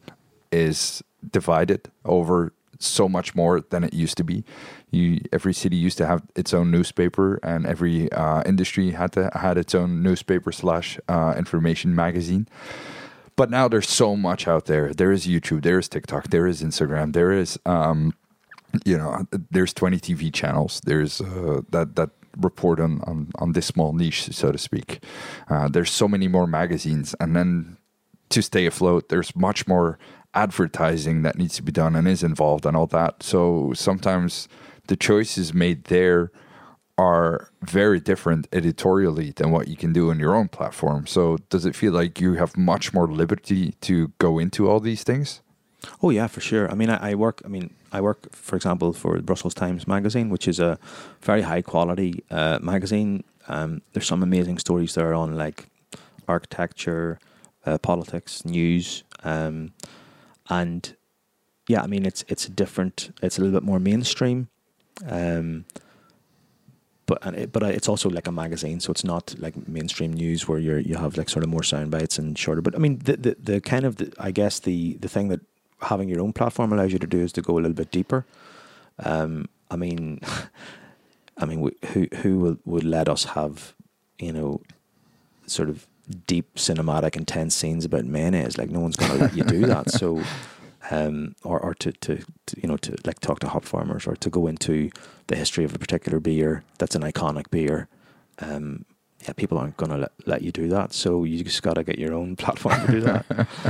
is divided over so much more than it used to be. You, every city used to have its own newspaper, and every uh, industry had to had its own newspaper slash uh, information magazine. But now there's so much out there. There is YouTube, there is TikTok, there is Instagram, there is um, you know, there's twenty T V channels. There's uh, that that report on, on on this small niche, so to speak. Uh, there's so many more magazines, and then to stay afloat, there's much more advertising that needs to be done and is involved and all that. So sometimes the choices made there are very different editorially than what you can do on your own platform. So does it feel like you have much more liberty to go into all these things? Oh yeah, for sure. I mean, I, I work. I mean, I work, for example, for the Brussels Times magazine, which is a very high quality uh, magazine. Um, there's some amazing stories there on like architecture, uh, politics, news, um, and yeah, I mean, it's it's a different. It's a little bit more mainstream. Um, But and it, but it's also like a magazine, so it's not like mainstream news where you you have like sort of more sound bites and shorter. But I mean, the the, the kind of the, I guess the the thing that having your own platform allows you to do is to go a little bit deeper. Um, I mean, I mean, who who will, would let us have, you know, sort of deep cinematic intense scenes about mayonnaise? Like no one's going to let you do that. So. Um, or or to, to, to you know to like talk to hop farmers or to go into the history of a particular beer that's an iconic beer. Um, yeah, people aren't going to let, let you do that. So you just got to get your own platform to do that.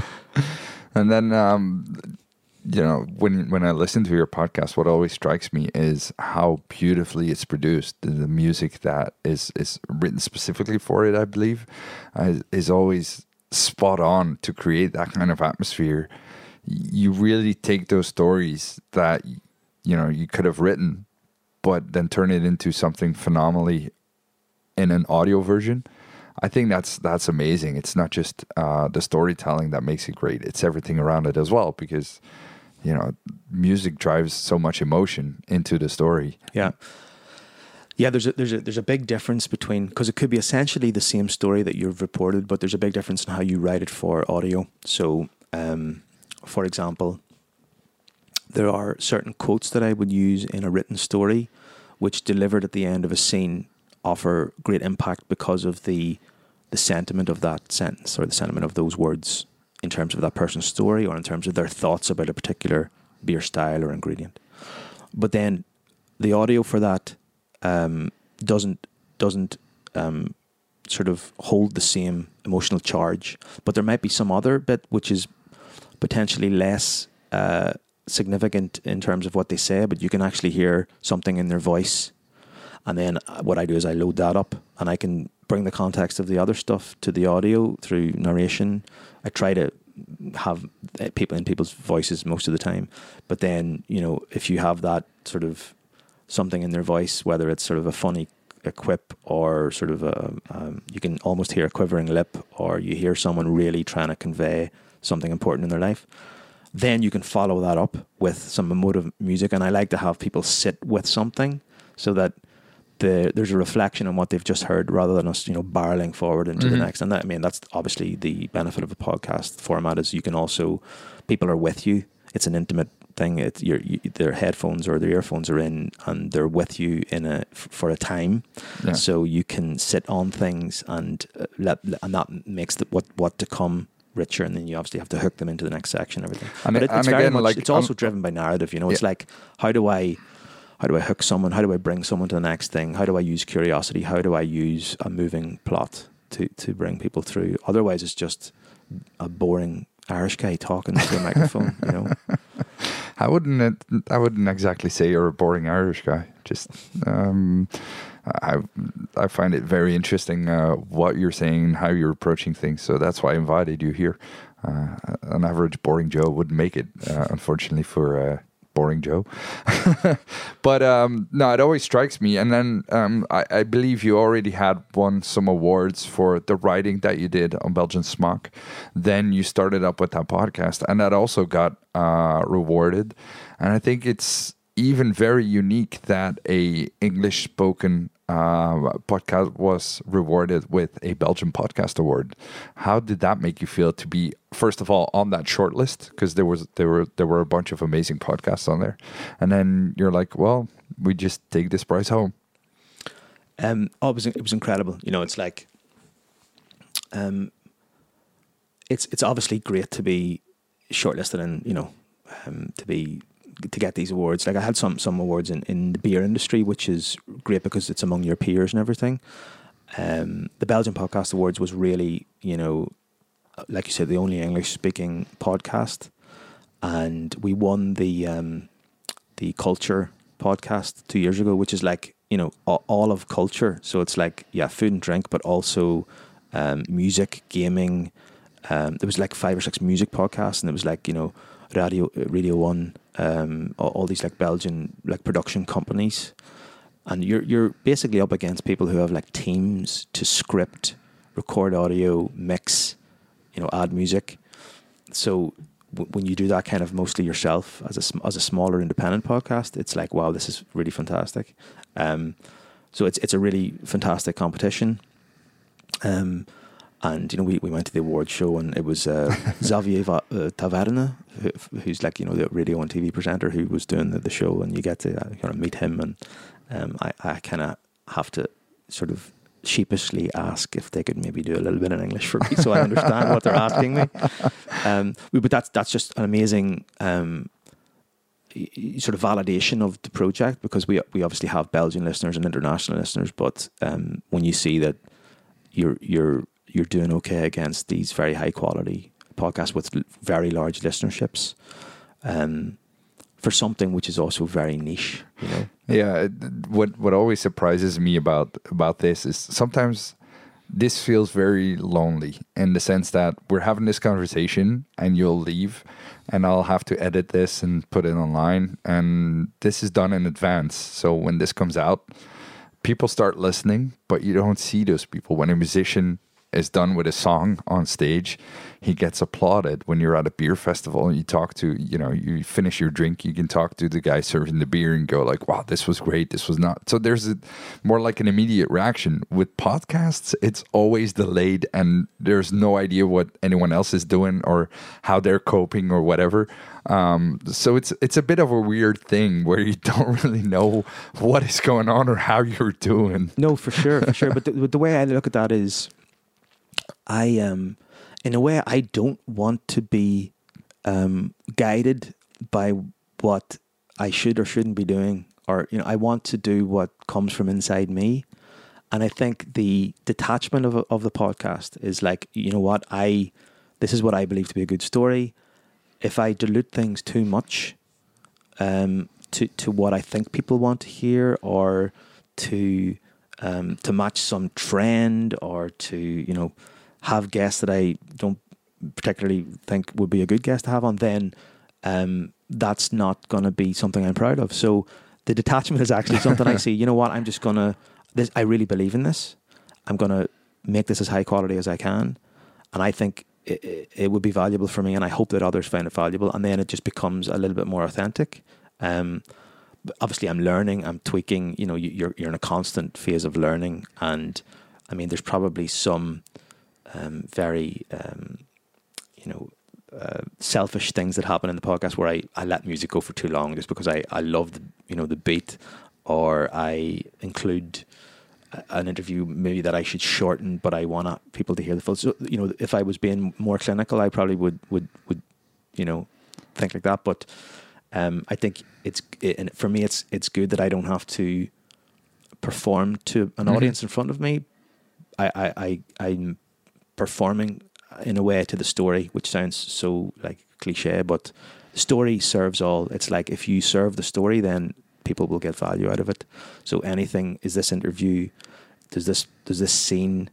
And then, um, you know, when when I listen to your podcast, what always strikes me is how beautifully it's produced. The, the music that is is written specifically for it, I believe, uh, is always spot on to create that kind of atmosphere. You really take those stories that, you know, you could have written, but then turn it into something phenomenally in an audio version. I think that's that's amazing. It's not just uh, the storytelling that makes it great. It's everything around it as well, because, you know, music drives so much emotion into the story. Yeah. Yeah, there's a there's a there's a big difference between, because it could be essentially the same story that you've reported, but there's a big difference in how you write it for audio. So, um, for example, there are certain quotes that I would use in a written story, which delivered at the end of a scene offer great impact because of the the sentiment of that sentence or the sentiment of those words in terms of that person's story or in terms of their thoughts about a particular beer style or ingredient. But then the audio for that um, doesn't doesn't um, sort of hold the same emotional charge. But there might be some other bit which is potentially less uh, significant in terms of what they say, but you can actually hear something in their voice. And then what I do is I load that up and I can bring the context of the other stuff to the audio through narration. I try to have people in people's voices most of the time. But then, you know, if you have that sort of something in their voice, whether it's sort of a funny a quip or sort of a, um, you can almost hear a quivering lip, or you hear someone really trying to convey something important in their life, then you can follow that up with some emotive music. And I like to have people sit with something so that the, there's a reflection on what they've just heard rather than us, you know, barreling forward into mm-hmm. the next. And that, I mean, that's obviously the benefit of a podcast format, is you can also, people are with you. It's an intimate thing. It's your, you, their headphones or their earphones are in, and they're with you in a f- for a time. Yeah. So you can sit on things and uh, let, and that makes the, what what to come richer. And then you obviously have to hook them into the next section and everything. And, but it, it's and very again, much. Like, it's also um, driven by narrative. You know, yeah. It's like, how do I how do I hook someone? How do I bring someone to the next thing? How do I use curiosity? How do I use a moving plot to to bring people through? Otherwise, it's just a boring Irish guy talking to a microphone, you know. I wouldn't. It, I wouldn't exactly say you're a boring Irish guy. Just, um, I, I find it very interesting uh, what you're saying, how you're approaching things. So that's why I invited you here. Uh, an average boring Joe wouldn't make it, uh, unfortunately, for uh, boring Joe. But um, no, it always strikes me. And then um, I, I believe you already had won some awards for the writing that you did on Belgian Smaak. Then you started up with that podcast, and that also got uh, rewarded. And I think it's even very unique that a English spoken uh, podcast was rewarded with a Belgian Podcast Award. How did that make you feel to be, first of all, on that short list? Because there was there were there were a bunch of amazing podcasts on there, and then you're like, well, we just take this prize home. Um, oh, it was it was incredible. You know, it's like, um, it's it's obviously great to be shortlisted and, you know, um, to be. to get these awards. Like I had some some awards in, in the beer industry, which is great because it's among your peers and everything. Um, the Belgian Podcast Awards was really, you know, like you said, the only English speaking podcast, and we won the um, the Culture podcast two years ago, which is like, you know, all of culture. So it's like, yeah, food and drink, but also um, music, gaming. Um, there was like five or six music podcasts, and it was like, you know, Radio Radio One. Um, all, all these like Belgian like production companies, and you're you're basically up against people who have like teams to script, record audio, mix, you know, add music. So w- when you do that kind of mostly yourself as a as a smaller independent podcast, it's like, wow, this is really fantastic. Um, so it's it's a really fantastic competition. Um. And, you know, we, we went to the award show, and it was uh, Xavier Va- uh, Taverne, who, who's like, you know, the radio and T V presenter who was doing the, the show, and you get to uh, kind of meet him. And um, I, I kind of have to sort of sheepishly ask if they could maybe do a little bit in English for me so I understand what they're asking me. Um, but that's that's just an amazing um, sort of validation of the project, because we we obviously have Belgian listeners and international listeners, but um, when you see that you're you're you're doing okay against these very high quality podcasts with very large listenerships, um, for something which is also very niche, you know? Yeah. What, what always surprises me about, about this is sometimes this feels very lonely, in the sense that we're having this conversation and you'll leave and I'll have to edit this and put it online. And this is done in advance. So when this comes out, people start listening, but you don't see those people. When a musician is done with a song on stage, he gets applauded. When you're at a beer festival and you talk to, you know, you finish your drink, you can talk to the guy serving the beer and go like, wow, this was great, this was not. So there's a, more like an immediate reaction. With podcasts, it's always delayed, and there's no idea what anyone else is doing or how they're coping or whatever. Um, so it's it's a bit of a weird thing where you don't really know what is going on or how you're doing. No, for sure, for sure. But the, the way I look at that is, I um, in a way, I don't want to be um, guided by what I should or shouldn't be doing, or you know, I want to do what comes from inside me. And I think the detachment of of the podcast is like, you know what, I this is what I believe to be a good story. If I dilute things too much, um, to to what I think people want to hear, or to um, to match some trend, or to you know have guests that I don't particularly think would be a good guest to have on, then um, that's not going to be something I'm proud of. So the detachment is actually something I see. You know what? I'm just gonna. This, I really believe in this. I'm going to make this as high quality as I can. And I think it, it, it would be valuable for me, and I hope that others find it valuable. And then it just becomes a little bit more authentic. Um, but obviously, I'm learning, I'm tweaking. You know, you, you're you're in a constant phase of learning. And I mean, there's probably some um, very, um, you know, uh, selfish things that happen in the podcast where I, I let music go for too long just because I, I love the, you know, the beat, or I include an interview maybe that I should shorten, but I want people to hear the full. So, you know, if I was being more clinical, I probably would, would, would, you know, think like that. But um, I think it's, it, and for me, it's, it's good that I don't have to perform to an mm-hmm. audience in front of me. I, I, I, I'm performing in a way to the story, which sounds so like cliche, but the story serves all. It's like, if you serve the story, then people will get value out of it. So anything, is this interview, does this does this scene,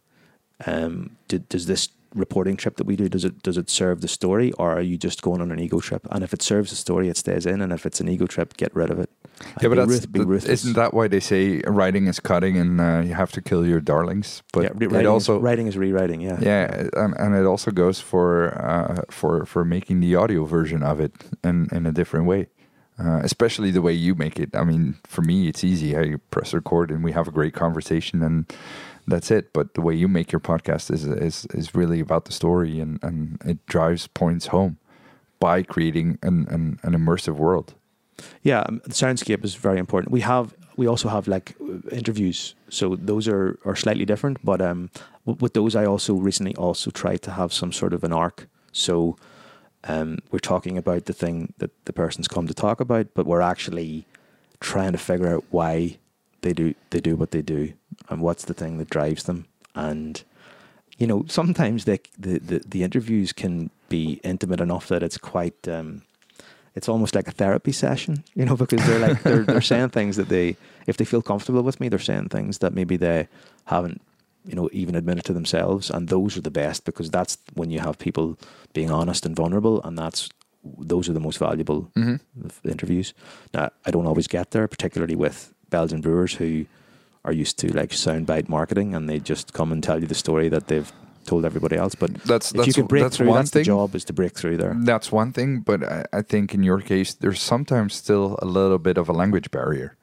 um, do, does this reporting trip that we do, does it does it serve the story, or are you just going on an ego trip? And if it serves the story, it stays in, and if it's an ego trip, get rid of it. Yeah, but that's, ruth, that, isn't that why they say writing is cutting, and uh, you have to kill your darlings? But yeah, writing it also is, writing is rewriting. Yeah, yeah, and, and it also goes for uh, for for making the audio version of it in in a different way. Uh, especially the way you make it. I mean, for me, it's easy. I press record and we have a great conversation, and that's it. But the way you make your podcast is is is really about the story, and, and it drives points home by creating an, an, an immersive world. Yeah, um, the soundscape is very important. We have we also have like interviews, so those are, are slightly different. But um, with those, I also recently also tried to have some sort of an arc. So. Um, we're talking about the thing that the person's come to talk about, but we're actually trying to figure out why they do they do what they do, and what's the thing that drives them. And you know, sometimes they, the the the interviews can be intimate enough that it's quite um, it's almost like a therapy session, you know, because they're like they're they're saying things that they, if they feel comfortable with me, they're saying things that maybe they haven't, you know, even admitted to themselves. And those are the best, because that's when you have people being honest and vulnerable, and that's those are the most valuable mm-hmm. interviews. Now, I don't always get there, particularly with Belgian brewers who are used to like soundbite marketing, and they just come and tell you the story that they've told everybody else. But that's, if that's, you can break that's through, one that's thing. The job is to break through there. That's one thing, but I, I think in your case, there's sometimes still a little bit of a language barrier.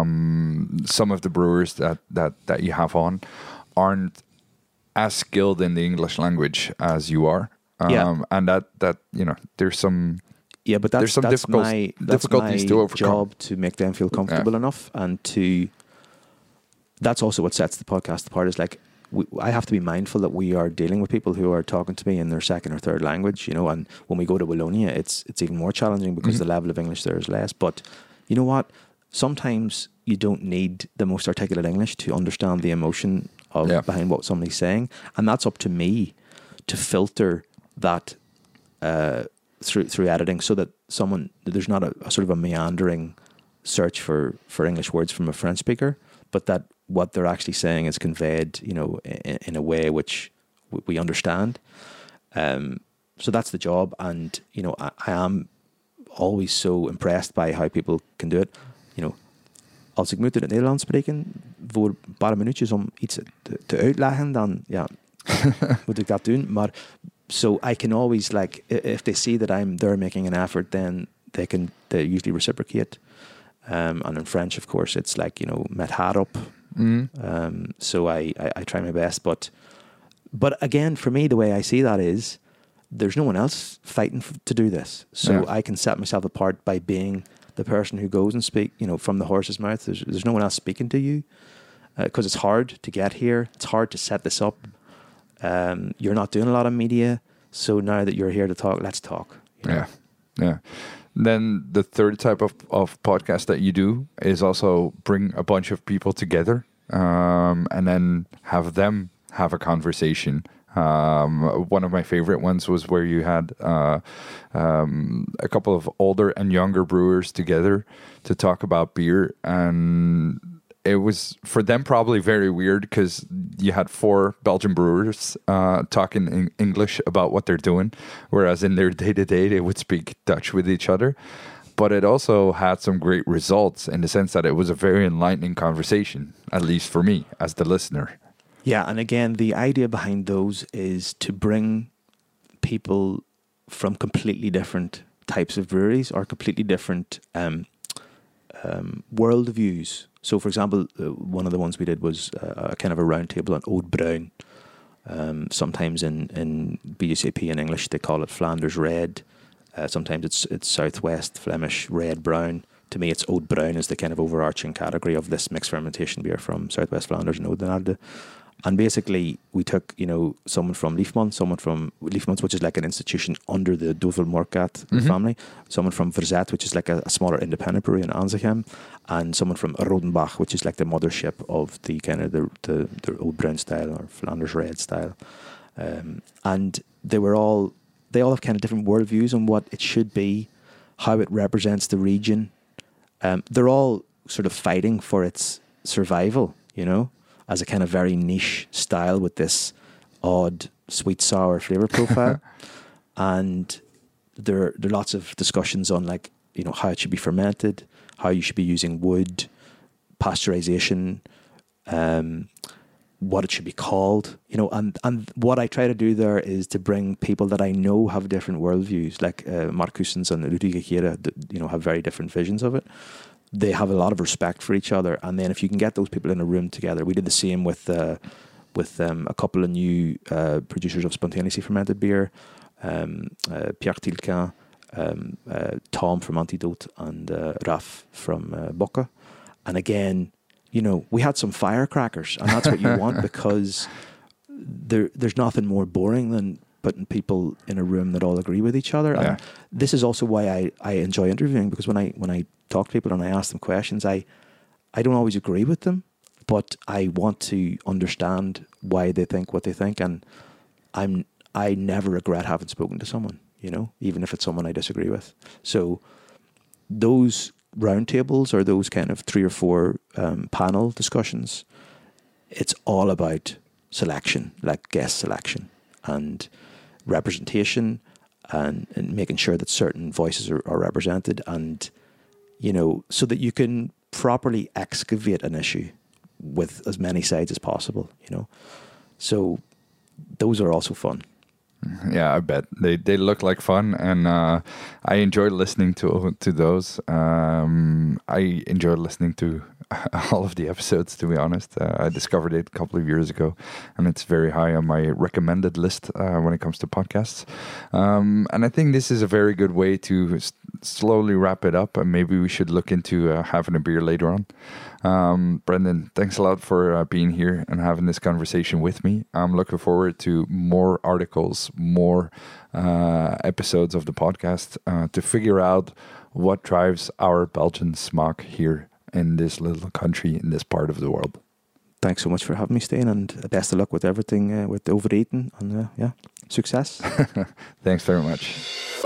Um, some of the brewers that, that, that you have on aren't as skilled in the English language as you are. Um, yeah. And that, that, you know, there's some... Yeah, but that's, there's some that's difficult, my, that's difficulties my to overcome. job, to make them feel comfortable yeah. enough, and to... That's also what sets the podcast apart, is like, we, I have to be mindful that we are dealing with people who are talking to me in their second or third language, you know, and when we go to Wallonia, it's it's even more challenging because mm-hmm. the level of English there is less. But you know what? Sometimes you don't need the most articulate English to understand the emotion of yeah. behind what somebody's saying, and that's up to me to filter that uh, through through editing, so that someone there's not a, a sort of a meandering search for, for English words from a French speaker, but that what they're actually saying is conveyed, you know, in, in a way which we understand. Um, so that's the job, and you know, I, I am always so impressed by how people can do it. You know, als ik moet in het Nederlands spreken voor een paar minuutjes om iets te, te uitleggen, dan ja, moet ik dat doen. Maar so I can always, like, if they see that I'm there making an effort, then they can they usually reciprocate. Um, and in French, of course, it's like, you know, met haar op. Mm. Um, so I, I, I try my best, but but again, for me, the way I see that is there's no one else fighting f- to do this. So yeah. I can set myself apart by being the person who goes and speak, you know, from the horse's mouth. There's, there's no one else speaking to you, because uh, it's hard to get here. It's hard to set this up. Um, you're not doing a lot of media. So now that you're here to talk, let's talk. You know? Yeah, yeah. Then the third type of, of podcast that you do is also bring a bunch of people together um, and then have them have a conversation. Um, one of my favorite ones was where you had uh, um, a couple of older and younger brewers together to talk about beer, and it was for them probably very weird because you had four Belgian brewers uh, talking in English about what they're doing, whereas in their day-to-day they would speak Dutch with each other. But it also had some great results in the sense that it was a very enlightening conversation, at least for me as the listener. Yeah, and again, the idea behind those is to bring people from completely different types of breweries or completely different um, um, world views. So, for example, uh, one of the ones we did was uh, a kind of a round table on Oud Bruin. Um, sometimes in, in B U C P in English, they call it Flanders Red. Uh, sometimes it's it's Southwest Flemish Red Brown. To me, it's Oud Bruin is the kind of overarching category of this mixed fermentation beer from Southwest Flanders and Oudenaarde. And basically, we took, you know, someone from Liefmans, someone from Liefmans, which is like an institution under the Duvel Morkat mm-hmm. family, someone from Verzet, which is like a, a smaller independent brewery in Anzegem, and someone from Rodenbach, which is like the mothership of the kind of the the, the Oud Bruin style or Flanders Red style. Um, and they were all, they all have kind of different worldviews on what it should be, how it represents the region. Um, they're all sort of fighting for its survival, you know, as a kind of very niche style with this odd sweet sour flavor profile. And there, there are lots of discussions on like, you know, how it should be fermented, how you should be using wood, pasteurization, um, what it should be called, you know, and, and what I try to do there is to bring people that I know have different worldviews, like uh, Mark Cousins and Ludwig Gera, you know, have very different visions of it. They have a lot of respect for each other, and then if you can get those people in a room together, we did the same with uh, with um, a couple of new uh, producers of spontaneously fermented beer, um, uh, Pierre Tilquin, um, uh, Tom from Antidote, and uh, Raf from uh, Bocca. And again, you know, we had some firecrackers, and that's what you want because there there's nothing more boring than putting people in a room that all agree with each other. Yeah. And this is also why I, I enjoy interviewing, because when I when I talk to people and I ask them questions, I I don't always agree with them, but I want to understand why they think what they think, and I'm I never regret having spoken to someone, you know, even if it's someone I disagree with. So those roundtables or those kind of three or four um, panel discussions, it's all about selection, like guest selection and representation, and, and making sure that certain voices are, are represented, and you know, so that you can properly excavate an issue with as many sides as possible, you know. So those are also fun. Yeah, I bet they they look like fun, and uh, I enjoy listening to to those. Um, I enjoy listening to all of the episodes. To be honest, uh, I discovered it a couple of years ago, and it's very high on my recommended list uh, when it comes to podcasts. Um, and I think this is a very good way to s- slowly wrap it up, and maybe we should look into uh, having a beer later on. Um, Brendan, thanks a lot for uh, being here and having this conversation with me. I'm looking forward to more articles, more uh, episodes of the podcast uh, to figure out what drives our Belgian smaak here in this little country, in this part of the world. Thanks so much for having me, Steen, and best of luck with everything uh, with Overeten. And uh, yeah, success. Thanks very much.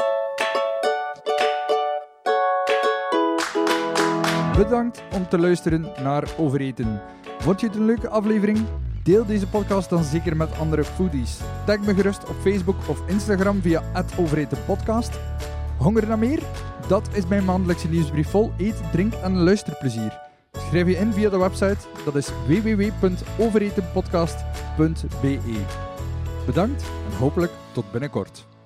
Bedankt om te luisteren naar Overeten. Vond je het een leuke aflevering? Deel deze podcast dan zeker met andere foodies. Tag me gerust op Facebook of Instagram via at overetenpodcast. Honger naar meer? Dat is mijn maandelijkse nieuwsbrief vol eet, drink en luisterplezier. Schrijf je in via de website, dat is w w w punt overetenpodcast punt b e. Bedankt en hopelijk tot binnenkort.